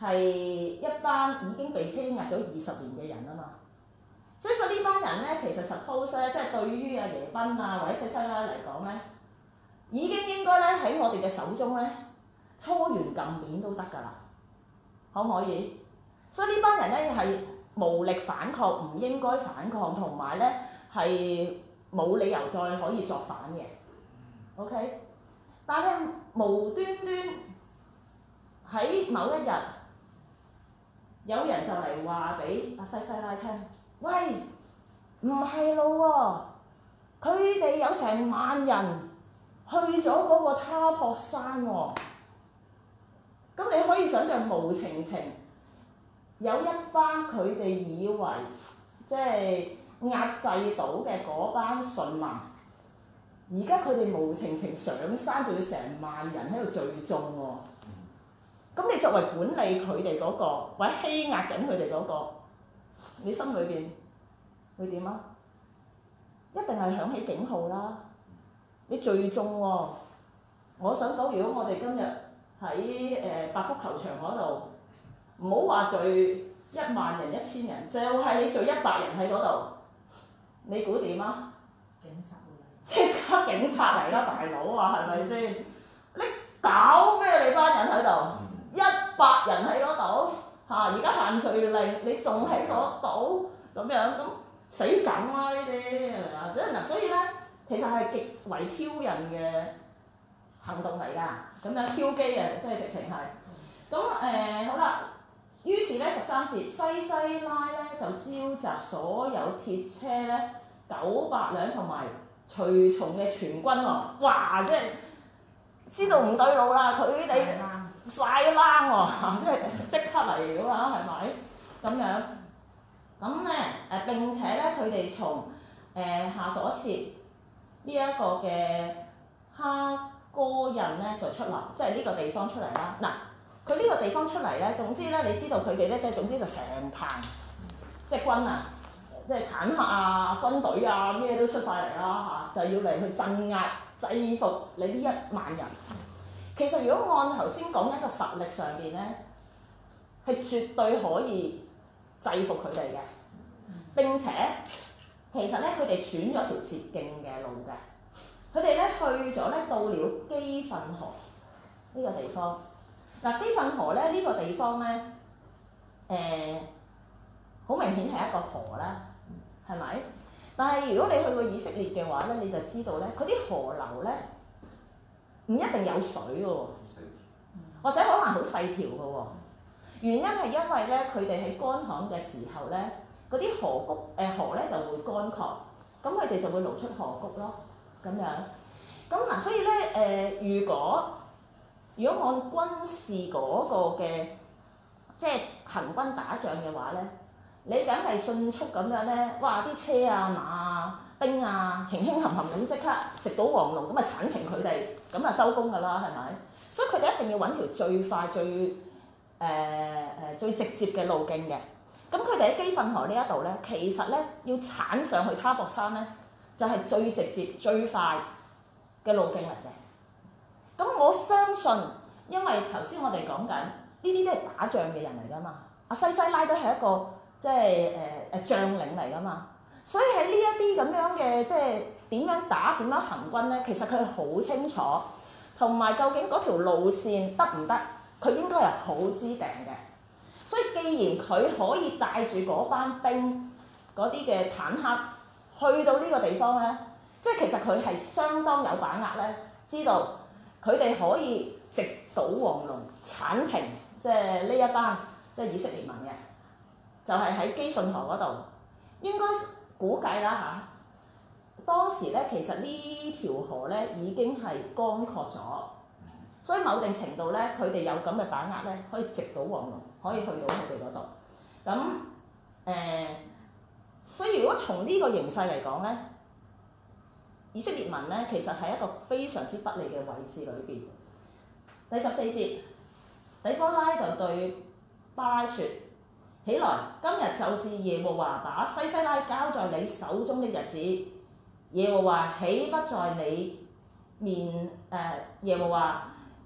係一班已經被欺壓咗二十年嘅人啊嘛。所以所以呢班人咧，其實 suppose 咧，即係對於阿耶賓啊或者西西拉嚟講咧，已經應該咧喺我哋嘅手中咧，搓圓撳扁都得㗎啦，可唔可以？所以呢班人咧係無力反抗，唔應該反抗，同埋咧係冇理由再可以作反嘅。OK， 但係無端端喺某一日，有人就嚟話俾阿西西拉聽。喂，唔係咯喎，佢哋有成萬人去咗嗰個他泊山喎、哦。咁你可以想象無情情有一班佢哋以為即係壓制到嘅嗰班順民，而家佢哋無情情上山，仲要成萬人喺度聚眾喎。咁你作為管理佢哋嗰個，或者欺壓緊佢哋嗰個，你心裏邊會點啊？一定係響起警號啦！你聚眾喎，我想講，如果我哋今日喺誒百福球場嗰度，唔好話聚一萬人、一千人，就係你聚一百人喺嗰度，你估點啊？ 警察會嚟， 即刻警察嚟啦，大佬啊，係咪先？你搞咩？你班人喺度，一百人喺嗰度嚇，而家限聚令，你仲喺嗰度咁樣咁？死梗啦呢啲係咪啊？嗱，所以咧，其實係極為挑釁嘅行動嚟㗎，咁樣挑機啊，即係直情係。咁誒、呃、好啦，於是咧十三節，西西拉咧就召集所有鐵車咧九百輛同埋隨從嘅全軍喎，哇！即係知道唔對路啦，佢哋晒冷喎，即係即刻嚟㗎嘛，係咪？咁樣。咁咧誒並且咧，佢哋從誒、呃、下所設呢一個嘅哈哥人咧就出嚟，即係呢個地方出嚟啦。嗱，佢呢個地方出嚟咧，總之咧，你知道佢哋咧，即係總之就成棚即係軍啊，即係坦克啊、軍隊啊，咩都出晒嚟啦嚇，就要嚟去鎮壓、制服你呢一萬人。其實如果按頭先講一個實力上邊咧，係絕對可以制服佢哋嘅。並且其實咧，佢哋選咗條捷徑嘅路嘅。佢哋咧去咗咧，到了基訓河呢個地方。嗱，基訓河咧呢個地方咧，誒好明顯係一個河啦，係咪？但係如果你去過以色列嘅話咧，你就知道咧，佢啲河流咧唔一定有水嘅喎，或者可能好細條嘅喎。原因係因為咧，佢哋喺乾旱嘅時候咧。嗰啲河谷誒、呃、河咧就會乾涸，咁佢哋就會露出河谷咯，咁樣。咁嗱，所以咧誒、呃，如果如果按軍事嗰個嘅即係行軍打仗嘅話咧，你梗係迅速咁樣咧，哇！啲車啊、馬啊、兵啊，輕輕冚冚咁即刻直搗黃龍，咁啊剷平佢哋，咁啊收工㗎啦，係咪？所以佢哋一定要揾條最快、最誒誒、呃、最直接嘅路徑嘅。咁佢哋喺基訓河呢一度咧，其實咧要鏟上去他泊山咧，就係、是、最直接、最快嘅路徑嚟嘅。咁我相信，因為頭先我哋講緊呢啲都係打仗嘅人嚟㗎嘛，阿西西拉都係一個即係誒誒將領嚟㗎嘛，所以喺呢一啲咁樣嘅即係點樣打、點樣行軍咧，其實佢係好清楚，同埋究竟嗰條路線得唔得，佢應該係好知定嘅。所以既然佢可以帶住嗰班兵嗰啲嘅坦克去到呢個地方咧，即係其實佢係相當有把握咧，知道佢哋可以直搗黃龍、剷平即係呢一班即係以色列民嘅，就係、是、喺基訓河嗰度。應該估計啦嚇，當時咧其實呢條河咧已經係乾涸咗。所以某定程度咧，佢哋有咁嘅把握咧，可以直搗黃龍，可以去到佢哋嗰度。咁誒、呃，所以如果從呢個形勢嚟講咧，以色列民咧其實係一個非常之不利嘅位置裏邊。第十四節，底波拉就對巴拉説：起來，今日就是耶和華把西西拉交在你手中的日子。耶和華豈不在你面誒、呃？耶和華。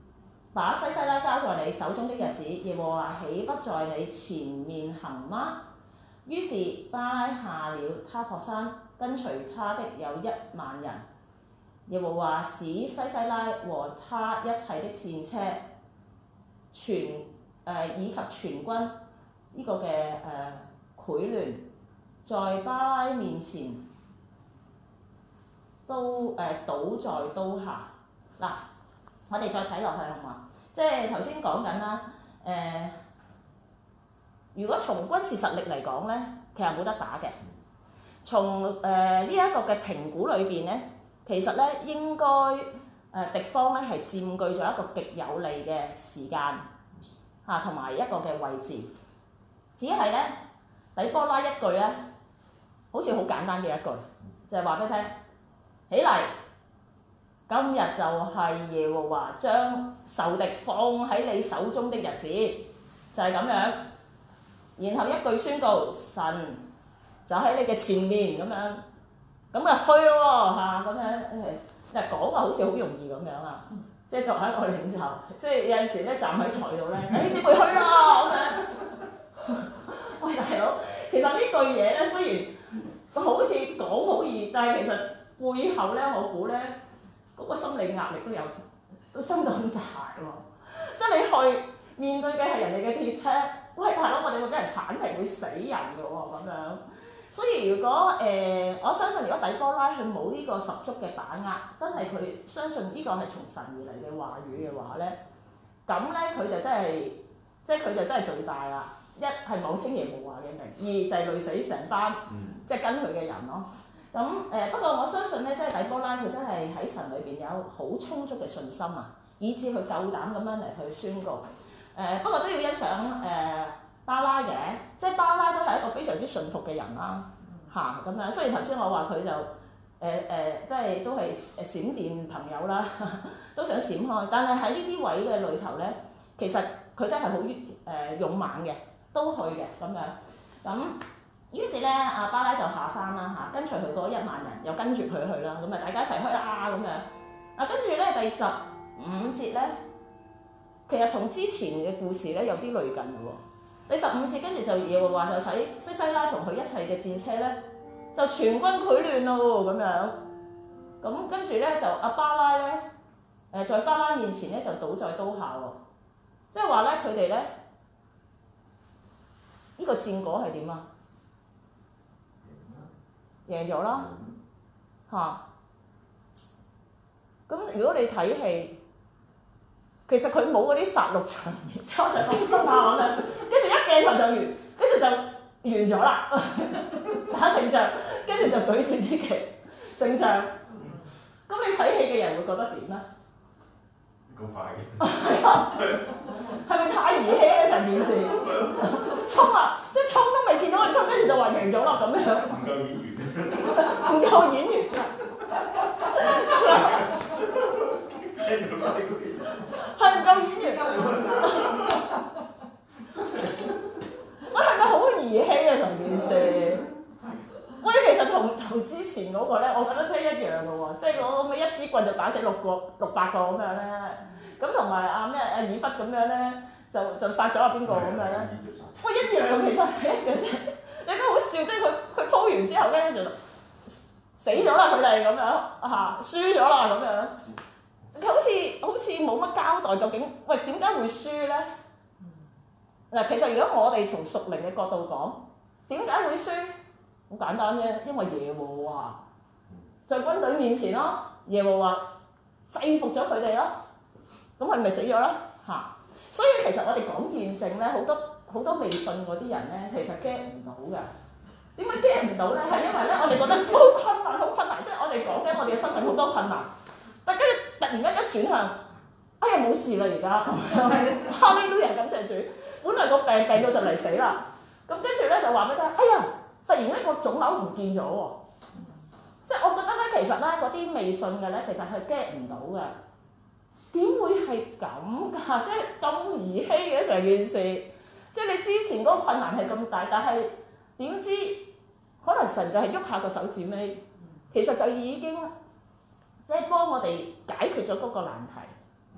把西西拉交在你手中的日子，耶和華豈不在你前面行嗎？於是巴拉下了他泊山，跟隨他的有一萬人。耶和華使西西拉和他一切的戰車，全誒、呃、以及全軍呢、這個嘅誒潰亂，在巴拉面前都誒、呃、倒在刀下。嗱，我哋再睇落去好嘛？即係頭先講緊啦，誒、呃，如果從軍事實力嚟講咧，其實冇得打嘅。從誒呢一個嘅評估裏邊咧，其實咧應該誒、呃、敵方咧係佔據咗一個極有利嘅時間嚇，同、啊、埋一個嘅位置。只係咧底波拉一句咧，好似好簡單嘅一句，就係話俾你聽，起嚟！今日就係耶和華將仇敵放喺你手中的日子，就係、是、咁樣。然後一句宣告，神就喺你嘅前面咁樣，咁啊去咯嚇咁樣誒，誒講話好似好容易咁樣啊！即係作為一個領袖，即係有陣時咧站喺台度咧，誒姊妹去啦咁樣。喂大佬，其實呢句嘢咧雖然好似講好易，但係其實背後咧我估咧。嗰個心理壓力都有，都相當大喎。即係你去面對嘅係人哋嘅鐵車，喂大佬，我哋會俾人剷平，會死人嘅喎咁樣。所以如果誒、呃，我相信如果底波拉佢冇呢個十足嘅把握，真係佢相信呢個係從神而嚟嘅話語嘅話咧，咁咧佢就真係，即係佢就真係最大啦。一係妄稱耶和華嘅名，二就係累死成班，即係跟佢嘅人咯。咁誒、呃、不過我相信咧，即係底波拉佢真係喺神裏邊有好充足嘅信心啊，以致佢夠膽咁樣嚟去宣告。誒、呃、不過都要欣賞誒、呃、巴拉嘅，即係巴拉都係一個非常之順服嘅人啦，嚇咁樣。雖然頭先我話佢就誒誒、呃呃，即係都係誒閃電朋友啦，都想閃開，但係喺呢啲位嘅裏頭咧，其實佢真係好誒勇猛嘅，都去嘅咁樣咁。於是咧，阿巴拉就下山啦嚇，跟隨佢嗰一萬人，又跟住佢去啦，咁啊大家一齊去啦咁樣。啊跟住咧第十五節咧，其實同之前嘅故事咧有啲類近嘅喎。第十五節跟住就耶和華就使西西拉同佢一切嘅戰車咧，就全軍潰亂咯咁樣。咁跟住咧就阿巴拉咧，誒在巴拉面前咧就倒在刀下喎。即係話咧佢哋咧，呢個戰果係點啊？贏咗啦嚇！咁、啊、如果你睇戲，其實佢冇嗰啲殺戮場面，即係我成日講出下咁樣，跟住一鏡頭就完，跟住就完咗啦，打勝仗，跟住就舉住支旗勝仗。咁你睇戲嘅人會覺得點咧？ 咁快嘅？ 係啊，係咪太兒戲咧成件事？衝啊！即係衝都未見到佢衝，跟住就話贏咗啦咁樣。 唔夠演員。 唔夠演員啊！係唔夠演員㗎？喂，係咪好兒戲啊？成件事？喂，其實同同之前嗰個咧，我覺得都一樣嘅喎，即係我咪一支棍就打死六個六百個咁樣咧。咁同埋阿咩阿以弗咁樣咧，就就殺咗阿邊個咁樣咧？喂，一樣其實係一樣啫。你都好笑，即係佢佢鋪完之後咧就死咗啦，佢哋咁樣嚇，輸咗啦咁樣。佢好似好似冇乜交代，究竟喂點解會輸咧？嗱，其實如果我哋從屬靈嘅角度講，點解會輸？好簡單啫，因為耶和華在軍隊面前咯，耶和華制服咗佢哋咯，咁佢咪死咗咯嚇。所以其實我哋講見證咧，好多好多未信嗰啲人咧，其實 get 唔到㗎。點解 get 唔到咧？係因為咧，我哋覺得好困難，好困難，即係我哋講緊我哋嘅生命好多困難，但跟住突然間一轉向，哎呀冇事啦而家咁樣，哈利路亞感謝主，本來個病病到就嚟死啦，咁跟住咧就話俾佢聽，哎呀！突然間個腫瘤唔見咗喎，即係我覺得咧，其實咧嗰啲未信嘅咧，其實係 get 唔到嘅。點會係咁㗎？即係咁兒戲嘅成件事，即係你之前嗰個困難係咁大，但係點知可能神就係喐下個手指尾，其實就已經即係幫我哋解決咗嗰個難題。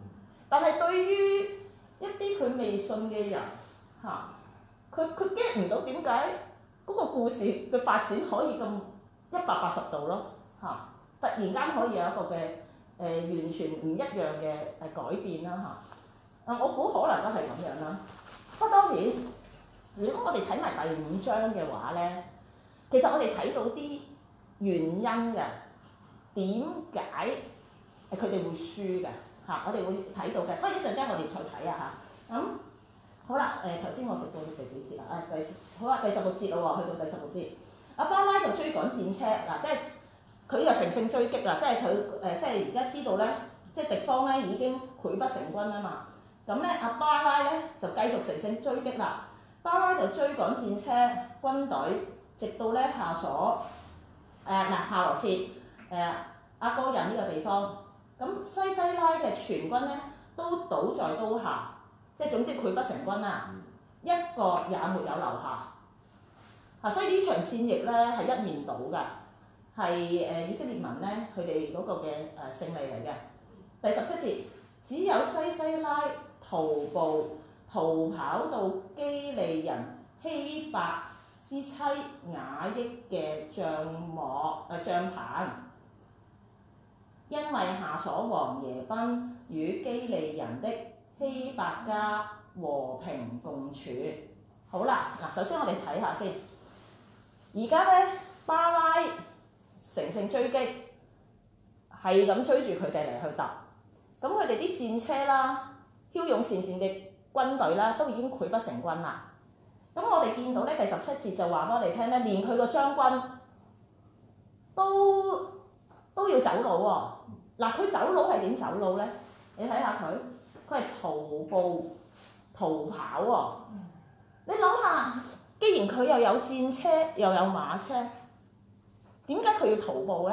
但係對於一啲佢未信嘅人嚇，佢佢 get 唔到點解嗰個故事嘅發展可以咁一百八十度咯嚇，突然間可以有一個嘅誒、呃、完全唔一樣嘅誒改變啦嚇。啊，我估可能都係咁樣啦。不過當然，如果我哋睇埋第五章嘅話咧，其實我哋睇到啲原因嘅，點解誒佢哋會輸嘅嚇？我哋會睇到嘅。不過一陣間我哋再睇啊嚇。咁、嗯、好啦，誒頭先我讀到第幾節啊？誒第好啊，第十六節咯喎，去到第十六節，阿巴拉就追趕戰車嗱、啊，即係佢又乘勝追擊啦，即係佢誒，即係而家知道咧，即係敵方咧已經潰不成軍啊嘛。咁咧，阿巴拉咧就繼續乘勝追擊啦。巴拉就追趕戰車軍隊，直到咧夏瑣誒嗱夏羅設誒阿哥人呢個地方。咁西西拉嘅全軍咧都倒在刀下，即係總之潰不成軍啦，一個也沒有留下。啊，所以呢場戰役咧係一面倒㗎，係誒以色列民咧佢哋嗰個嘅誒勝利嚟嘅。第十七節，只有西西拉徒步逃跑到基利人希伯之妻雅億嘅帳幕誒帳棚，因為夏瑣王耶賓與基利人的希伯家和平共處。好啦，嗱，首先我哋睇下先。而家咧，巴拉乘勝追擊，係咁追住佢哋嚟去打。咁佢哋啲戰車啦、驍勇善戰嘅軍隊啦，都已經潰不成軍啦。咁我哋見到咧第十七節就話俾我哋聽咧，連佢個將軍都都要走佬喎、哦。嗱，佢走佬係點走佬咧？你睇下佢，佢係徒步逃跑喎、哦。你諗下，既然佢又有戰車又有馬車，點解佢要徒步咧？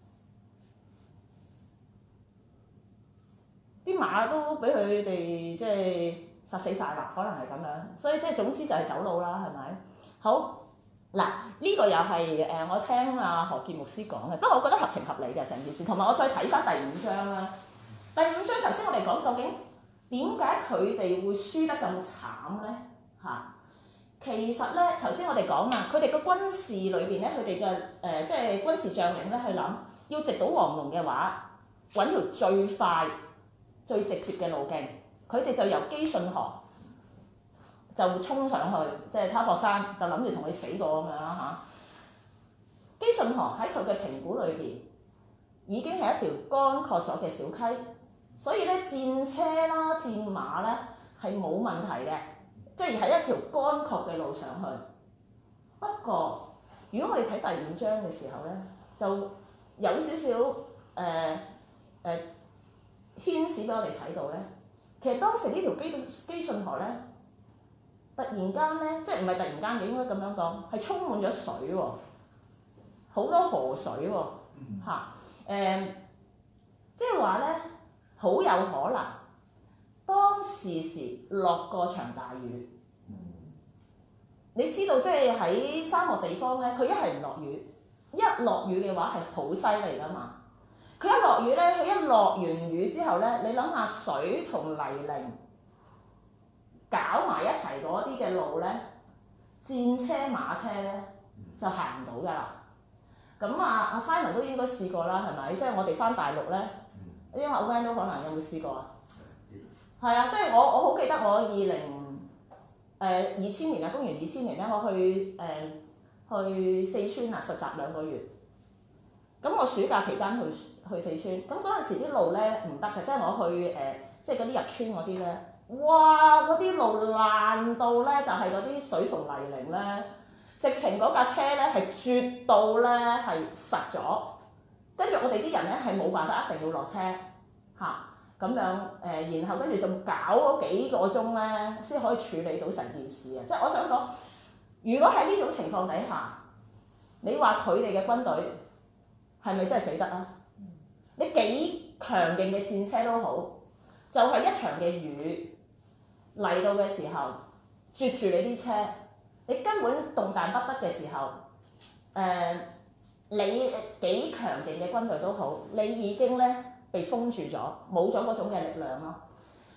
啲馬都俾佢哋即係殺死晒啦，可能係咁樣，所以即係總之就係走佬啦，係咪？好嗱，呢、這個又係誒我聽阿何傑牧師講嘅，不過我覺得合情合理嘅成件事，同埋我再睇翻第五章啦。第五章頭先我哋講究竟點解佢哋會輸得咁慘咧？嚇，其實咧頭先我哋講啊，佢哋個軍事裏邊咧，佢哋嘅誒即係軍事將領咧去諗，要直搗黃龍嘅話，揾條最快最直接嘅路徑，佢哋就由基順河就衝上去，即係他泊山，就諗住同佢死過咁樣啦嚇。基順河喺佢嘅評估裏邊已經係一條乾涸咗嘅小溪，所以咧戰車啦、戰馬咧係冇問題嘅，即係喺一條乾涸嘅路上去。不過，如果我哋睇第五章嘅時候咧，就有少少誒誒。呃呃牽使俾我哋睇到咧，其實當時呢條基基順河咧，突然間咧，即係唔係突然間嘅，應該咁樣講，係充滿咗水喎，好多河水喎，嚇、嗯，誒，即係話咧，好有可能當時時落過場大雨。你知道即係喺沙漠地方咧，佢一係唔落雨，一落雨嘅話係好犀利噶嘛。佢一落雨咧，佢一落完雨之後咧，你諗下水同泥濘搞埋一齊嗰啲嘅路咧，戰車馬車咧就行唔到㗎啦。咁啊，阿 Simon 都應該試過啦，係咪？即係我哋返大陸咧，因為阿 Van 都可能有冇試過啊？係啊，即係我我好記得我二零誒二千年啊，公元二千年咧，我去誒、呃、去四川啊實習兩個月。咁我暑假期間去去四川，咁嗰陣時啲路咧唔得嘅，即係我去誒、呃，即係嗰啲入村嗰啲咧，哇！嗰啲路爛到咧，就係嗰啲水同泥濘咧，直情嗰架車咧係絕到咧係實咗，跟住我哋啲人咧係冇辦法一定要落車嚇咁、啊、樣誒、呃，然後跟住就搞嗰幾個鐘咧先可以處理到成件事啊！即係我想講，如果喺呢種情況底下，你話佢哋嘅軍隊係咪真係死得啊？你幾強勁嘅戰車都好，就係、是、一場嘅雨嚟到嘅時候，絕住你啲車，你根本動彈不得嘅時候，誒、呃，你幾強勁嘅軍隊都好，你已經咧被封住咗，冇咗嗰種嘅力量咯。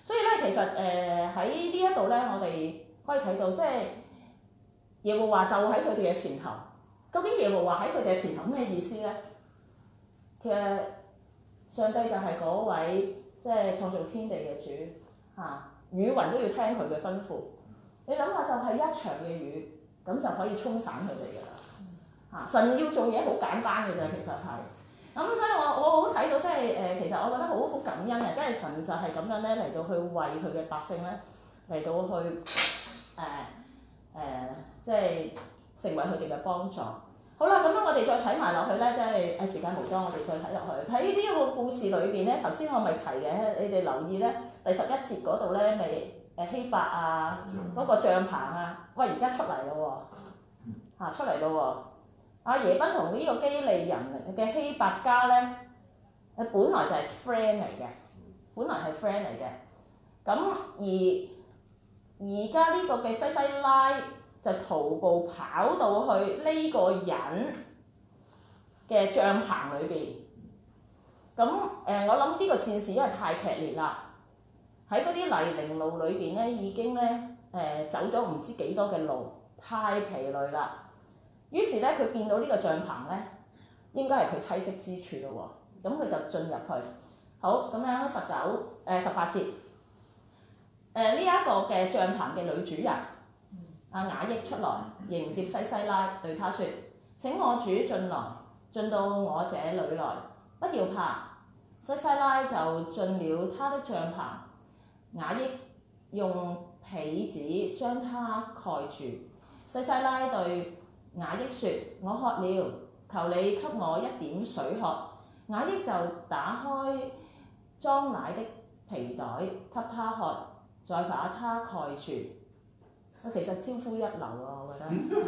所以咧，其實誒喺呢一度咧，我哋可以睇到，即係耶和華就喺佢哋嘅前頭。究竟耶和華喺佢哋嘅前頭咩意思咧？其實上帝就係嗰位即係創造天地嘅主嚇、啊，雨雲都要聽佢嘅吩咐。你諗下，就係一場嘅雨，咁就可以沖散佢哋㗎啦嚇。神要做嘢好簡單嘅啫，其實係。咁、嗯、所以我我好睇到即係誒，其實我覺得好好感恩啊！即係神就係咁樣咧嚟到去為佢嘅百姓咧嚟到去誒誒、呃呃，即係成為佢哋嘅幫助。好啦，咁樣我哋再睇埋落去咧，即係誒時間無多，我哋再睇落去。喺呢一個故事裏邊咧，頭先我咪提嘅，你哋留意咧，第十一節嗰度咧，咪誒希伯啊嗰、那個帳篷啊，喂而家出嚟咯喎嚇出嚟咯喎！阿耶賓同呢個基利人嘅希伯家咧，誒本來就係 friend 嚟嘅，本來係 friend 嚟嘅。咁而而家呢個嘅西西拉就徒步跑到去呢個人嘅帳棚裏邊。咁誒、呃，我諗呢個戰事因為太劇烈啦，喺嗰啲泥濘路裏邊咧，已經咧誒、呃、走咗唔知幾多嘅路，太疲累啦。於是咧，佢見到呢個帳棚咧，應該係佢棲息之處咯喎。咁佢就進入去。好，咁樣十九誒十八節，誒呢一個嘅帳棚嘅女主人阿雅億出來迎接西西拉，對他說：請我主進來，進到我這裡來，不要怕。西西拉就進了他的帳棚，雅億用被子將他蓋住。西西拉對雅億說：我渴了，求你給我一點水喝。雅億就打開裝奶的皮袋給他喝，再把他蓋住。其實招呼一流啊，我覺得。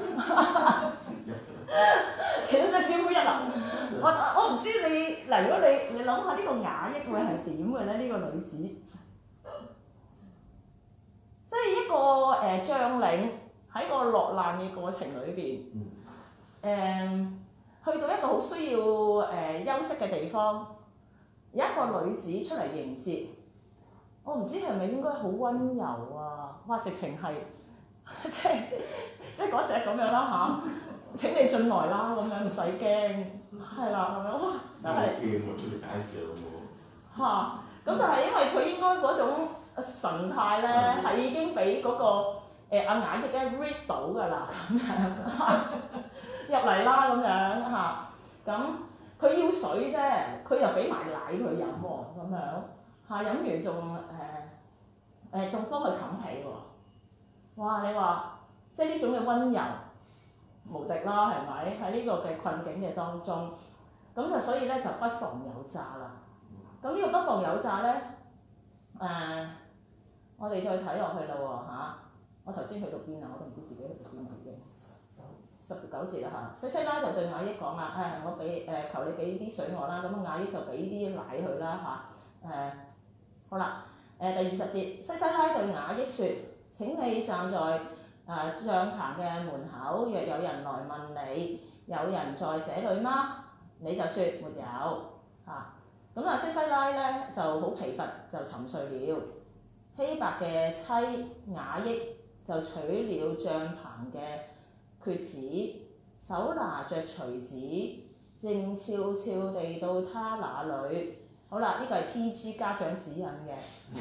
其實真係招呼一流。我我唔知你嗱，如果你你諗下呢個雅億會係點嘅咧？呢、這個女子，即係一個誒、呃、將領。喺個落難嘅過程裏邊，誒、嗯、去到一個好需要誒、呃、休息嘅地方，有一個女子出嚟迎接，我唔知係咪應該好温柔啊？哇！直情係即係即係嗰隻咁樣啦嚇，請你進來啦咁樣，唔使驚，係啦咁樣，哇！真係驚我出嚟解獎喎嚇，咁就係因為佢應該嗰種神態咧，係已經俾嗰個。誒阿雅億咧 read 到㗎啦，咁樣入嚟啦咁樣嚇，咁佢要水啫，佢又俾埋奶佢飲喎，咁樣嚇飲完仲誒誒仲幫佢冚被喎，哇！你話即係呢種嘅温柔無敵啦，係咪？喺呢個嘅困境嘅當中，咁就所以咧就不妨有詐啦。咁呢個不妨有詐咧，誒、呃、我哋再睇落去啦喎嚇。我頭先去到邊啊？我都唔知自己去到邊已經。十九節啦嚇，西西拉就對雅億講啦：誒、哎、我俾誒、呃、求你俾啲水我啦。咁雅億就俾啲奶佢啦嚇。誒、呃、好啦，誒、呃、第二十節，西西拉對雅億説：請你站在誒、呃、帳棚嘅門口，若有人來問你，有人在這裡嗎？你就説沒有嚇。咁啊西西拉咧就好疲乏，就沉睡了。希伯嘅妻雅億就取了帳棚嘅橛子，手拿着錘子，靜悄悄地到他那裡。好啦，呢個係 P G 家長指引嘅。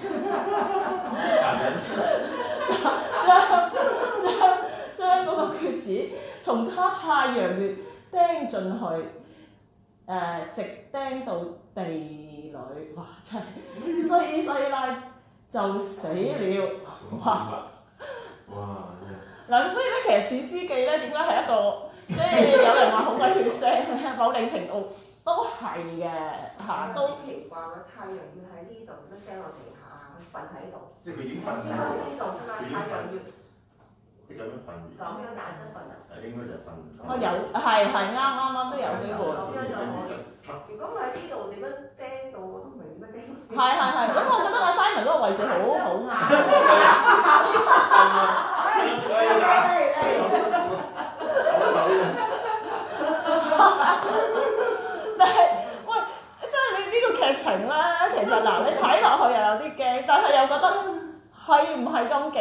將將將嗰個橛子從他太陽穴釘進去，誒、呃、直釘到地裡。哇！真係西西拉就死了。哇！ 哇！ 嗱，所以咧，其實《士師記》咧，點解係一個即係有人話好鬼血腥咧？某定程度都係嘅嚇，都奇怪啦！太陽要喺呢度，都釘落地下，瞓喺度。 即係佢已經瞓喺呢度㗎嘛，太陽要即係咁樣瞓完。 咁樣眼睛瞓啊？ 誒應該就係瞓。 我有係係啱啱啱都有機會。 咁樣就可以。如果喺呢度點樣釘到我都唔明乜釘。 係係係，咁我覺得阿 Simon 嗰個位置好好啱。但係，喂，真係你呢個劇情咧，其實嗱，你睇落去又有啲驚，但係又覺得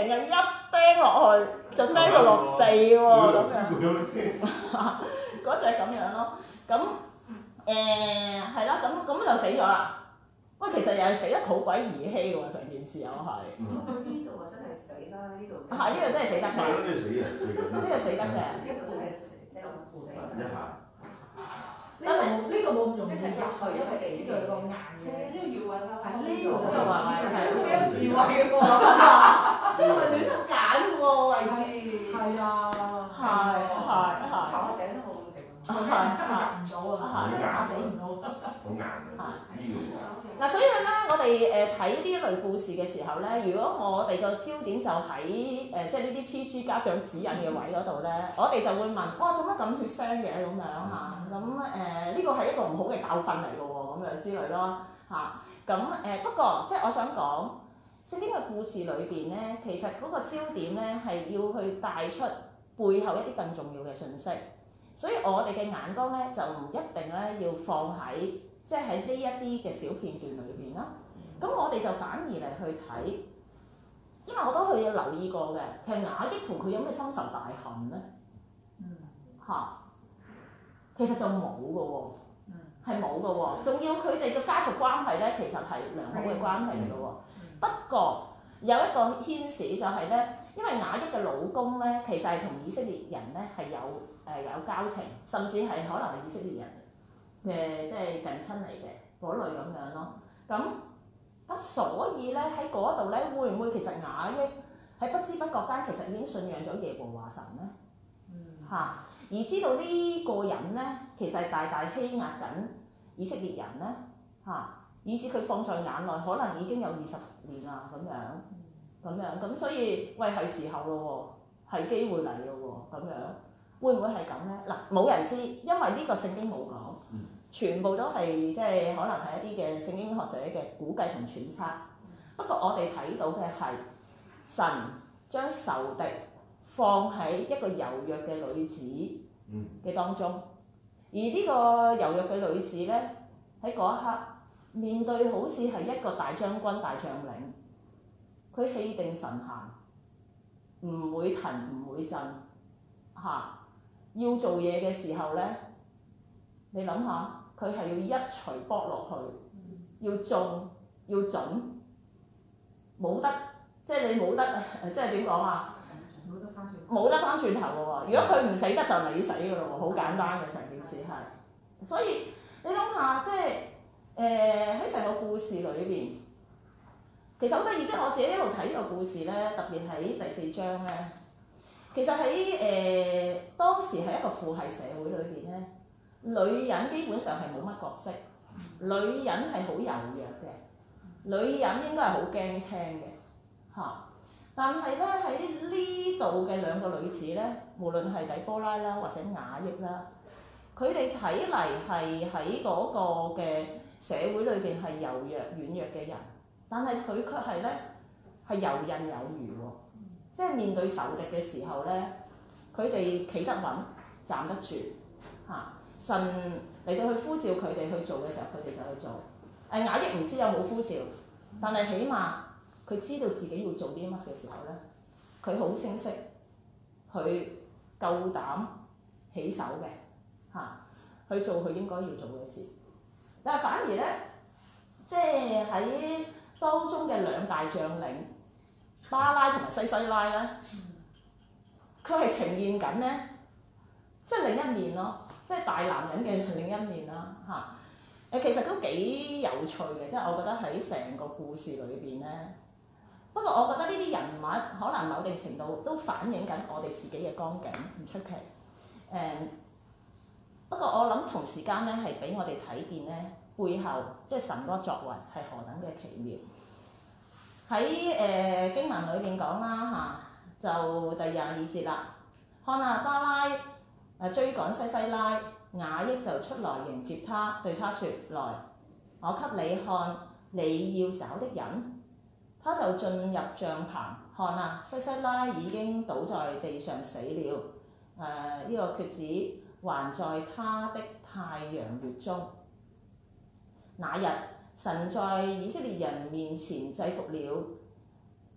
勁啊！一釘落去就釘到落地喎，咁樣嗰隻咁樣咯。咁誒係啦，咁咁就死咗啦。喂，其實又係死得好鬼兒戲喎，成件事又係。 咁呢度啊真係死啦！呢度係呢個真係死得嘅。 係咯，呢個死人死緊。 呢個死得嘅。 呢度真係死死一下。 呢個冇呢個冇咁容易入去，因為呢個係個硬嘅。 呢個要揾啦。 係呢個呢個話話係幾有智慧嘅喎，即係唔係亂咁揀嘅喎位置。係啊， 係係係。 頭殼頂都冇咁勁。 係係入唔到啊！打死唔到。 好硬嘅。呢個。 嗱，所以咧，我哋誒睇呢一類故事嘅時候咧，如果我哋個焦點就喺誒、呃、即係呢啲 P G 家長指引嘅位嗰度咧，我哋就會問：哇，做乜咁血腥嘅咁樣嚇？咁誒呢個係一個唔好嘅教訓嚟嘅喎，咁樣之類咯嚇。咁、啊、誒、呃、不過即係我想講，聖經嘅故事裏邊咧，其實嗰個焦點咧係要去帶出背後一啲更重要嘅信息，所以我哋嘅眼光咧就唔一定咧要放喺。即係喺呢一啲嘅小片段裏邊啦，咁我哋就反而嚟去睇，因為我都去留意過嘅，其實雅億同佢有咩深仇大恨咧？嗯，嚇，其實就冇嘅喎，嗯，係冇嘅喎，仲要佢哋嘅家族關係咧，其實係良好嘅關係嚟嘅喎。嗯、不過有一個牽涉就係咧，因為雅億嘅老公咧，其實係同以色列人咧係有誒、呃、有交情，甚至係可能係以色列人嘅即係近親嚟嘅嗰類咁樣咯，咁咁所以咧喺嗰度咧，會唔會其實雅億喺不知不覺間其實已經信仰咗耶和華神咧？嗯，嚇，而知道呢個人咧，其實係大大欺壓緊以色列人咧，嚇，以至佢放在眼內，可能已經有二十年啦咁樣，咁樣咁所以喂係時候咯喎，係機會嚟咯喎，咁樣會唔會係咁咧？嗱，冇人知，因為呢個聖經冇講。全部都係即係可能係一啲嘅聖經學者嘅估計同揣測。不過我哋睇到嘅係神將仇敵放喺一個柔弱嘅女子嘅當中，而呢個柔弱嘅女子咧喺嗰一刻面對好似係一個大將軍、大將領，佢氣定神閒，唔會騰唔會震嚇。要做嘢嘅時候咧，你諗下。佢係要一錘剝落去，要中要準，冇得即係你冇得，即係點講啊？冇得翻轉，冇得翻轉頭嘅喎。如果佢唔死得就你死嘅咯喎，好簡單嘅成件事係。所以你諗下，即係誒喺成個故事裏邊，其實好得意，即係我自己一路睇呢個故事咧，特別喺第四章咧，其實喺誒、呃、當時係一個父系社會裏邊咧。女人基本上係冇乜角色，女人係好柔弱嘅，女人應該係好驚青嘅嚇。但係咧喺呢度嘅兩個女子咧，無論係底波拉啦或者雅億啦，佢哋睇嚟係喺嗰個嘅社會裏邊係柔弱軟弱嘅人，但係佢卻係咧係游刃有餘喎。即係面對仇敵嘅時候咧，佢哋企得穩，站得住嚇。神嚟到去呼召佢哋去做嘅時候，佢哋就去做。誒雅億唔知有冇呼召，但係起碼佢知道自己要做啲乜嘅時候咧，佢好清晰，佢夠膽起手嘅嚇，去做佢應該要做嘅事。但係反而咧，即係喺當中嘅兩大將領巴拉同埋西西拉咧，佢係呈現緊咧，即係另一面咯。即係大男人嘅另一面啦嚇，誒其實都幾有趣嘅，即係我覺得喺成個故事裏邊咧。不過我覺得呢啲人物可能某定程度都反映緊我哋自己嘅光景，唔出奇。誒、嗯，不過我諗同時間咧係俾我哋睇見咧背後即係神嗰個作為係何等嘅奇妙。喺誒、呃、經文裏邊講啦嚇，就第廿二節啦，看啊巴拉。誒追趕西西拉，雅億就出來迎接他，對他說：來，我給你看你要找的人。他就進入帳棚，看啊，西西拉已經倒在地上死了。誒、呃，呢、這個橛子還在他的太陽穴中。那日，神在以色列人面前制服了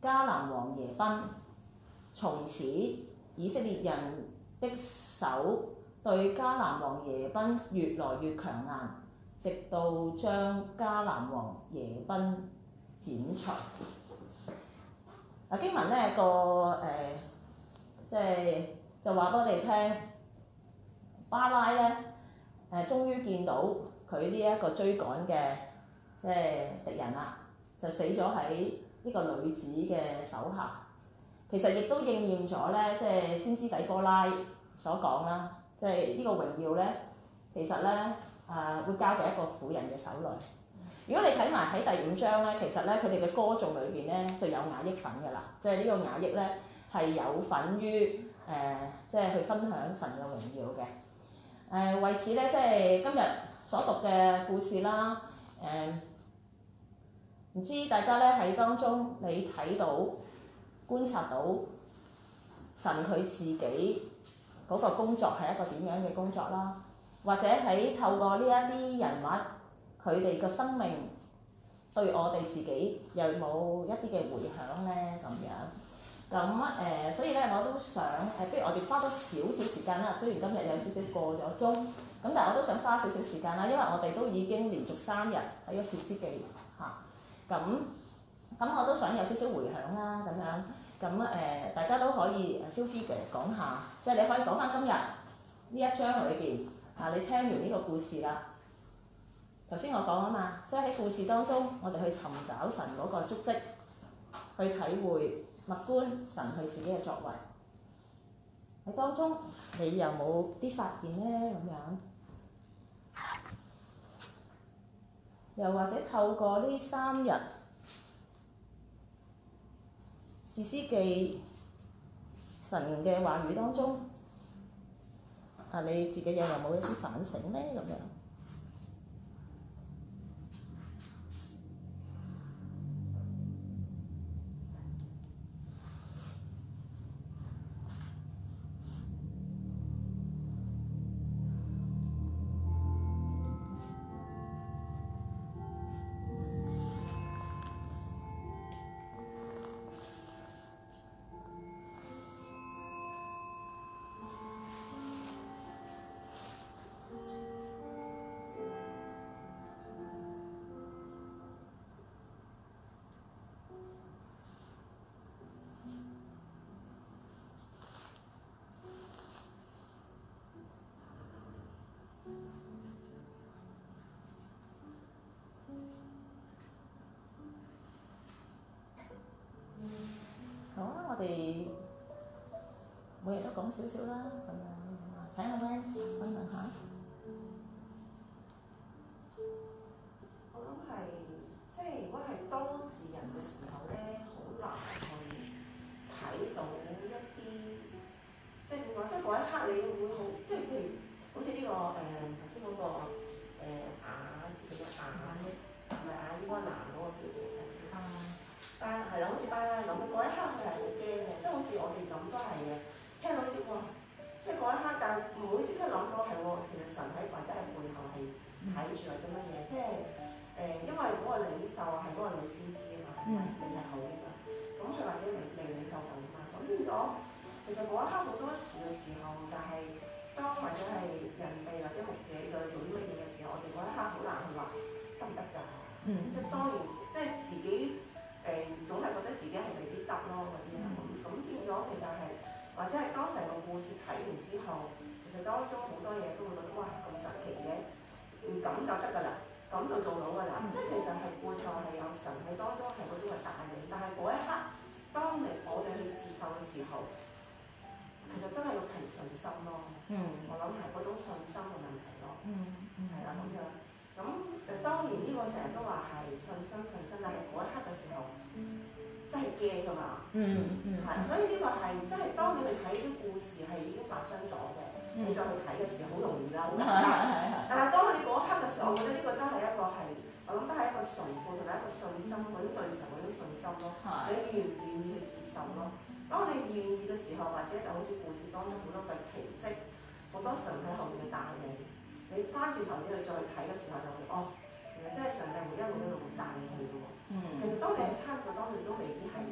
迦南王耶賓。從此以色列人的手對迦南王耶賓越來越強硬，直到將迦南王耶賓剪除。嗱經文咧個誒，即係就話俾我哋聽，巴拉咧誒，終於見到佢呢一個追趕嘅即係敵人啦，就死咗喺呢個女子嘅手下。其實亦都應驗咗咧，即係先知底波拉所講啦，即係呢個榮耀咧，其實咧啊會交俾一個婦人嘅手裏。如果你睇埋喺第五章咧，其實咧佢哋嘅歌頌裏邊咧就有雅億份㗎啦，即係呢個雅億咧係有份於誒、呃，即係去分享神嘅榮耀嘅。誒、呃、為此咧，即係今日所讀嘅故事啦，誒、呃、唔知大家咧喺當中你睇到，觀察到神佢自己嗰個工作係一個點樣嘅工作啦，或者喺透過呢一啲人物佢哋個生命對我哋自己有冇一啲嘅迴響咧咁樣？咁誒、呃，所以咧我都想誒、呃，不如我哋花多少少時間啦。雖然今日有少少過咗鐘，咁但係我都想花少少時間啦，因為我哋都已經連續三日睇咗《士師記》嚇，咁、啊。咁我都想有少少迴響啦，咁樣咁誒、呃，大家都可以 feel free 嘅講下，即係你可以講翻今日呢一章裏邊啊，你聽完呢個故事啦。頭先我講啊嘛，即係喺故事當中，我哋去尋找神嗰個足跡，去體會默觀神佢自己嘅作為。喺當中，你有冇啲發現咧？咁樣，又或者透過呢三日。士師記神嘅話語當中，啊你自己又有冇一啲反省咧？咁樣。好啊，我哋每日都講少少啦，咁樣請阿 Van 分享下。 我諗係即係如果係當事人嘅時候咧，好難去睇到一啲即係點講，即係嗰一刻你會好，即係譬如好似呢、這個誒頭先嗰個誒雅叫做雅億，唔係雅億嗰個男嗰個叫做誒巴拉，巴係啦，好似巴拉咁，嗰一刻佢係好驚嘅，即係好似我哋咁都係嘅，聽到呢啲哇，即係嗰一刻，但係唔會即刻諗到係喎，其實神喺或者係背後係睇住或者乜嘢，即係誒、呃，因為嗰個領袖係嗰個女先知啊嘛，你係好啊嘛，咁佢或者未未領袖到啊嘛，咁變咗其實嗰一刻好多時嘅時候就係、是、當或者係人哋或者牧者在做啲乜嘢嘅時候，我哋嗰一刻好難去話得唔得㗎？嗯，即係當然，即係自己誒、呃、總係覺得自己係未必得咯嗰啲啊，咁咁變咗其實係或者係當成個故事睇完之後，其實當中好多嘢都會覺得哇咁神奇嘅，唔咁就得㗎啦，咁就做到㗎啦，嗯、即係其實係背後係有神喺當中係嗰種嘅帶領，但係嗰一刻當你我哋去接受嘅時候，其實真係要憑信心咯。嗯，我諗係嗰種信心嘅問題咯。嗯，係啦咁樣。咁誒當然呢個成日都話係信心信心，但係嗰一刻嘅時候，真係驚㗎嘛。嗯嗯。係，所以呢個係真係當你去睇啲故事係已經發生咗嘅，嗯、你再去睇嘅時候好容易啦，好簡單。但係當你嗰一刻嘅時候，我覺得呢個真係一個係，我諗都係一個崇拜同埋一個信心，嗰啲對神嗰種信心咯。係。你願唔願意去接受咯？當你願意嘅時候，或者就好似故事當中好多嘅奇蹟，好多神喺後面嘅帶領。你翻轉頭你去再去睇嘅時候就會哦，原來真係上帝會一路一路咁帶你去嘅喎。嗯、其實當你係參與當中都未必係嘅，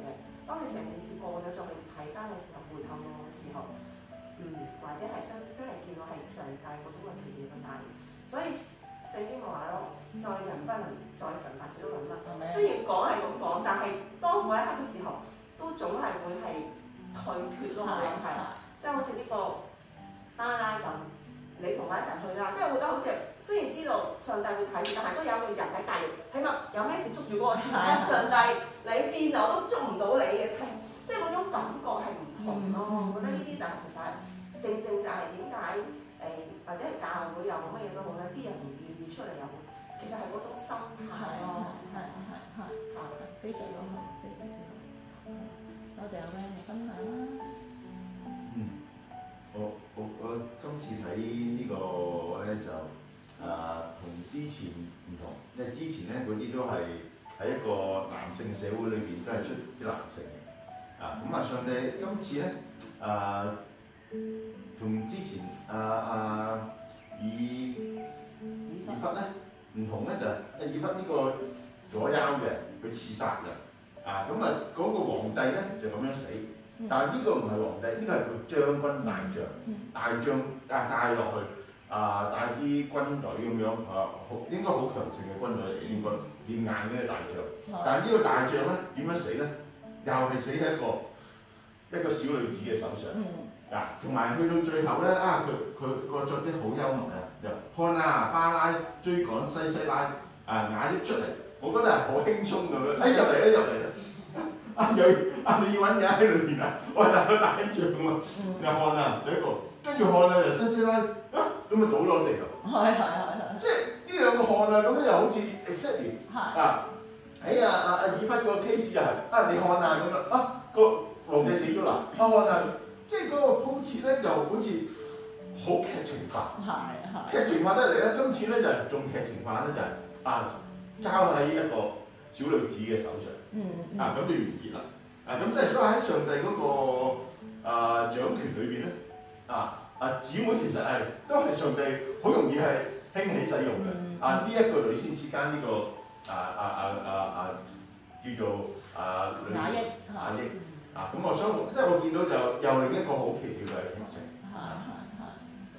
當你成件事過咗再去睇翻嘅時候，回頭望嘅時候，嗯，或者係真真係見到係上帝嗰種嘅奇妙嘅帶領。所以聖經咪話咯，在人不能，在神凡事都能得。雖然講係咁講，但係當嗰一刻嘅時候，都總係會係退缺咯，我諗係，即係好似呢個巴拉咁，你同我一齊去啦，即係我覺得好似雖然知道上帝會睇住，但係都有個人喺隔離，起碼有咩事捉住嗰個時間，上帝你變咗都捉唔到你嘅，即係嗰種感覺係唔同咯。我覺得呢啲就係其實正正就係點解誒或者係教會又好乜嘢都好咧，啲人唔願意出嚟又好，其實係嗰種心態咯， 係係係係非常之好，非常之好。多謝阿 Van 嘅分享啦。 嗯，我我我今次睇呢個咧就啊同之前唔同，因為之前咧嗰啲都係喺一個男性社會裏邊都係出啲男性嘅，啊咁啊上帝今次咧啊同之前啊啊以以弗咧唔同咧就係以弗呢個左右嘅佢刺殺嘅，啊咁啊嗰個皇帝咧就咁樣死。但係呢個唔係皇帝，呢、這個係個將軍大將，大將啊帶落去啊帶啲軍隊咁樣啊，好應該好強盛嘅軍隊嚟，應該練硬嘅大將。但係呢個大將咧點樣死咧？又係死喺一個一個小女子嘅手上。啊，同埋去到最後咧啊，佢佢個作啲好幽默啊，就看啊巴拉追趕西西拉啊雅億出嚟，我覺得係好輕鬆咁樣，哎入嚟啦入嚟啦！啊有啊你要揾嘢喺裏邊啊，我係大個大將喎，又看啊第一個，跟住看啊就西西拉啊咁咪倒落地度， 係係係係， 即係呢兩個看啊咁樣又好似 exactly 啊，喺啊啊啊以弗個 case 啊，啊你看啊咁樣啊個皇帝死咗啦，啊看啊，即係嗰個鋪設咧又好似好劇情化， 係係劇情化得嚟咧，今次咧就係仲劇情化咧就係啊交喺一個小女子嘅手上。 嗯嗯、 啊咁就完結啦，啊咁即係所以喺上帝嗰、那個啊掌權裏邊咧，啊啊姊妹其實係都係上帝好容易係興起使用嘅，嗯、啊呢一、這個女先之間呢個啊啊啊啊啊叫做啊女雅億雅億，啊咁我想即係我見到就又另一個好奇妙嘅劇情。係係係。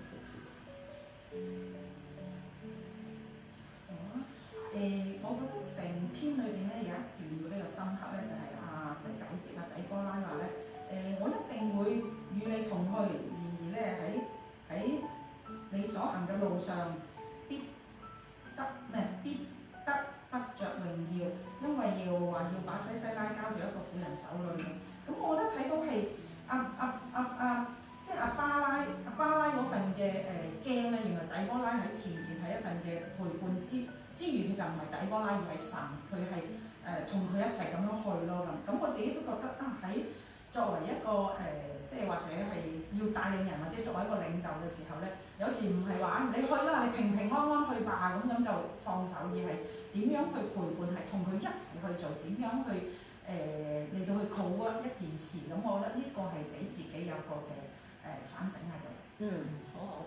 誒，我覺得成篇裏邊咧有一段嘅呢個深刻咧，就係啊第九節啊底波拉話咧，誒我一定會與你同去，然而咧喺喺你所行嘅路上必得咩必得不着榮耀，因為要話要把西西拉交住一個婦人手裏。咁我覺得睇到係阿阿阿阿即係阿巴拉阿巴拉嗰份嘅誒驚咧，原來底波拉喺前面係一份嘅陪伴之。之餘佢就唔係底波拉，而係神，佢係誒同佢一齊咁樣去咯咁。咁我自己都覺得啊，喺作為一個誒、呃，即係或者係要帶領人，或者作為一個領袖嘅時候咧，有時唔係話你去啦，你平平安安去吧，咁咁就放手，而係點樣去陪伴，係同佢一齊去做，點樣去誒嚟、呃、到去 co-work 一件事。咁我覺得呢個係俾自己有個嘅誒、呃、反省喺度。 嗯，好好。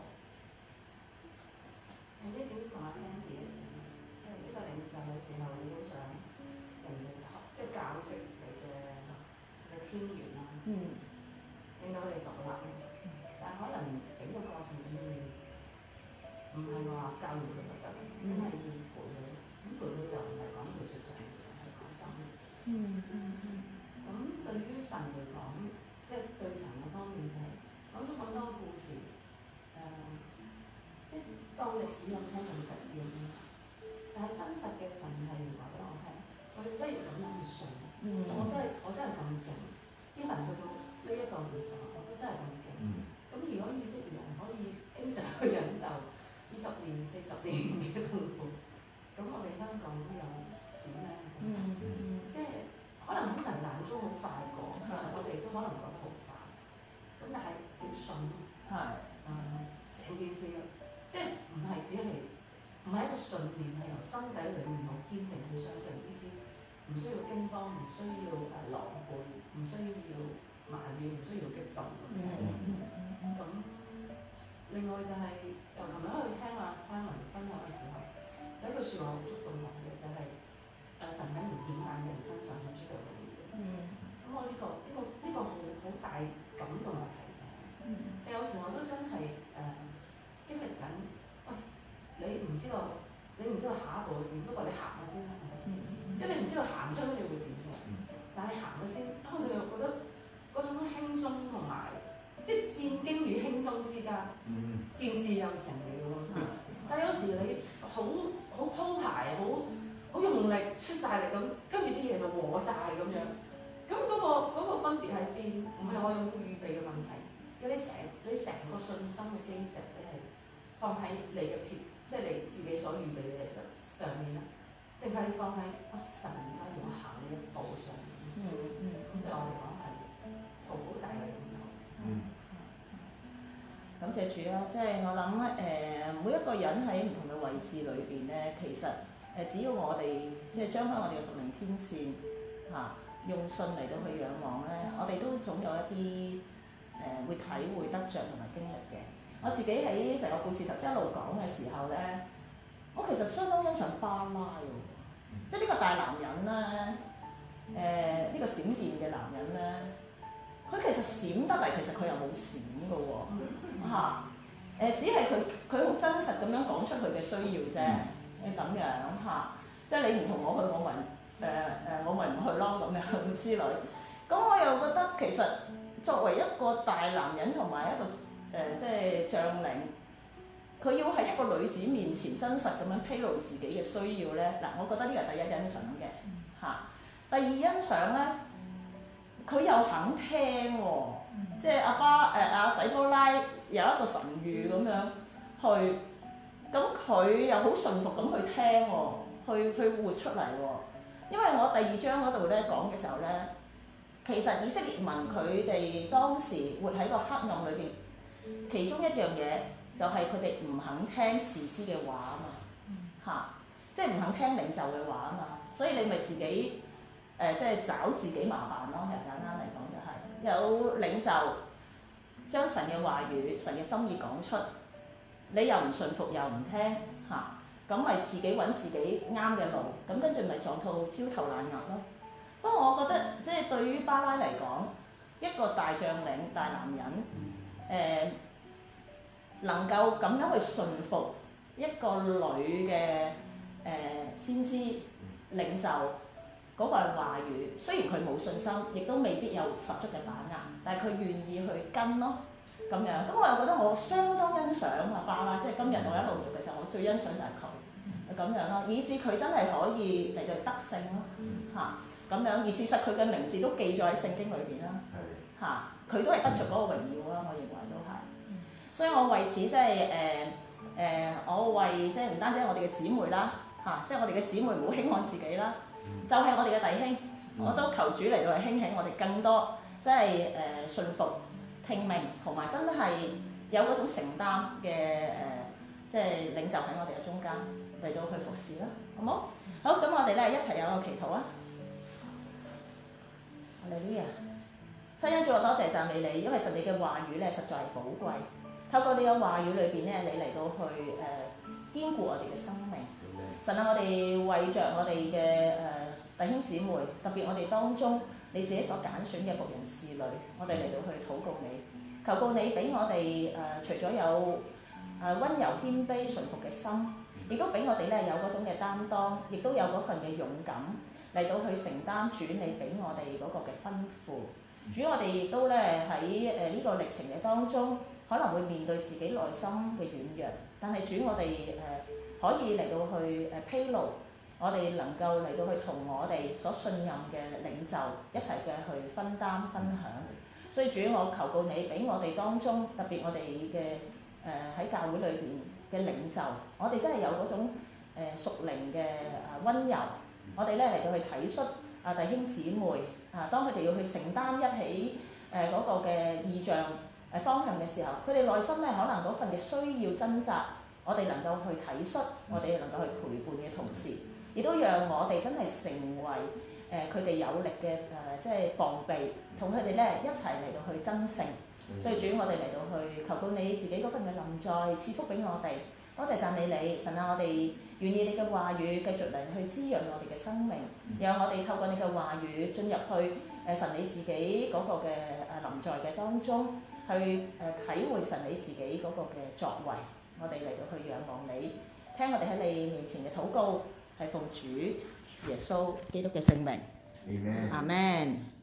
誒呢點同阿 Sandy 一樣，即係呢個領袖嘅時候，你好想人哋學，即係教識你嘅嘅天源啦， 嗯， 令到你獨立。但係可能整個過程裏面，唔係話教完佢就得，真係要陪佢。咁陪佢就唔係講技術上嘅，係講心。 嗯嗯嗯。 咁對於神嚟講，即係對神嘅方面就係講咗咁多故事，誒、呃。即係當歷史咁聽咁緊要，但係真實嘅神係話俾我聽，我哋真係要咁樣去信。嗯、我真係我真係咁勁，啲人去到呢一個地方，我都真係咁勁。咁、嗯、如果以色列人可以經常去忍受二十年、四十年嘅痛苦，咁我哋香港都有點咧？嗯嗯、即係可能喺神眼中好快過，其實我哋都可能覺得好快。咁但係要信咯。係。誒，成件事。即係唔係只係唔係一個信念，係由心底裏面好堅定去相信呢啲，唔需要驚慌，唔需要誒狼狽，唔需要埋怨，唔需要激動咁樣。咁另外就係、是、由琴日去聽阿 Simon 分享嘅時候，有一句説話好觸動我嘅，就係、是、誒神喺唔顯眼嘅人身上係知道嘅嘢。咁、嗯、我呢個感動嘅提醒。有時我都真係誒、呃、經歷緊，喂，你唔知道，你唔知道下一步會點，不過你行咗先啦，即係你唔知道行出你會點嘅，但係行咗先，啊你又覺得嗰種輕鬆同埋，即係戰驚與輕鬆之間，件事又成了喎。但係有時你好好鋪排，好好用力出晒力咁，跟住啲嘢就和晒咁樣。咁嗰、嗰個嗰個分別喺邊？唔係我有冇預備嘅問題，有你成你成個信心嘅基石，你係放喺你嘅撇，即係你自己所預備嘅嘢上上面啦，定係你放喺啊神而家要我行呢一步上面？嗯嗯，咁對我嚟講係好好大嘅感受。 嗯。感謝主啦，即係我諗誒、呃，每一個人喺唔同嘅位置裏邊咧，其實誒、呃、只要我哋即係張開我哋嘅屬靈天線嚇、啊，用信嚟到去仰望咧，我哋都總有一啲誒、呃、會體會得着同埋經歷嘅。我自己喺成個故事頭先一路講嘅時候咧，我其實相當欣賞巴拉喎，即係呢個大男人咧，誒、呃、呢、這個閃電嘅男人咧。佢其實閃得嚟，其實佢又冇閃嘅喎，嚇，誒只係佢佢好真實咁樣講出佢嘅需要啫，誒咁樣嚇，即係你唔同我去，我咪誒誒我咪唔去咯咁樣之類。咁我又覺得其實作為一個大男人同埋一個誒、呃、即係將領，佢要喺一個女子面前真實咁樣披露自己嘅需要咧，嗱，我覺得呢個係第一欣賞嘅嚇。第二欣賞咧。佢又肯聽喎、哦，即係阿巴誒阿底波拉有一個神諭咁樣去，咁佢又好順服咁去聽喎、哦，去去活出嚟喎、哦。因為我第二章嗰度咧講嘅時候咧，其實以色列民佢哋當時活喺個黑暗裏邊，其中一樣嘢就係佢哋唔肯聽士師嘅話啊嘛，嚇、啊，即係唔肯聽領袖嘅話啊嘛，所以你咪自己。誒、呃、即係找自己麻煩咯，簡單嚟講就係、是、有領袖將神嘅話語、神嘅心意講出，你又唔順服又唔聽嚇，咁、啊、咪自己揾自己啱嘅路，咁跟住咪撞到焦頭爛額咯。不過我覺得即係對於巴拉嚟講，一個大將領、大男人，誒、呃、能夠咁樣去順服一個女嘅誒、呃、先知領袖。嗰個係話語，雖然佢冇信心，亦都未必有十足嘅把握，但係佢願意去跟咯，咁樣。咁我又覺得我相當欣賞阿巴拉，即係今日我一路讀嘅時候，我最欣賞就係佢咁樣咯，以至佢真係可以嚟到得勝咯，嚇咁樣。而事實佢嘅名字都記載喺聖經裏邊啦，嚇佢都係得着嗰個榮耀啦，我認為都係。所以我為此即係誒誒，我為即係唔單止係我哋嘅姊妹啦，嚇，即係我哋嘅姊妹唔好輕看自己啦。就係我哋嘅弟兄，我都求主嚟到去興起我哋更多，即係誒信服、聽命，同埋真係有嗰種承擔嘅誒、呃，即係領袖喺我哋嘅中間嚟到去服侍啦，好冇？好，咁我哋咧一齊有個祈禱啊！哈利路亞！親恩主，我多謝讚美你，因為神你嘅話語咧實在係寶貴，透過你嘅話語裏邊咧，你嚟到去誒、呃、堅固我哋嘅生命。神啊，我哋為着我哋嘅誒弟兄姊妹，特別我哋當中你自己所揀選嘅僕人侍女，我哋嚟到去禱告你，求告你俾我哋誒、呃、除咗有誒溫柔謙卑順服嘅心，亦都俾我哋咧有嗰種嘅擔當，亦都有嗰份嘅勇敢嚟到去承擔主你俾我哋嗰個嘅吩咐。主，我哋亦都咧喺誒呢個歷程嘅當中，可能會面對自己內心嘅軟弱，但係主我哋誒。呃可以嚟到去誒披露，我哋能夠嚟到去同我哋所信任嘅領袖一齊嘅去分擔分享。所以主，我求告你，俾我哋當中，特別我哋嘅誒喺教會裏邊嘅領袖，我哋真係有嗰種誒屬靈嘅誒溫柔，我哋咧嚟到去體恤啊弟兄姊妹啊，當佢哋要去承擔一起誒嗰個嘅意象誒方向嘅時候，佢哋內心咧可能嗰份嘅需要掙扎。我哋能夠去體恤，我哋能夠去陪伴嘅同時，亦都讓我哋真係成為誒佢哋有力嘅誒、呃，即係防備，同佢哋咧一齊嚟到去爭勝。所以主，我哋嚟到去求告你自己嗰份嘅臨在，賜福俾我哋。多謝讚美你，神啊！我哋願意你嘅話語繼續嚟去滋潤我哋嘅生命，讓我哋透過你嘅話語進入去誒誒神你自己嗰個嘅誒臨在嘅當中，去誒體會神你自己嗰個嘅作為，我哋嚟到去仰望你，聽我哋喺你面前嘅禱告，係奉主耶穌基督嘅聖名， Amen. 阿門。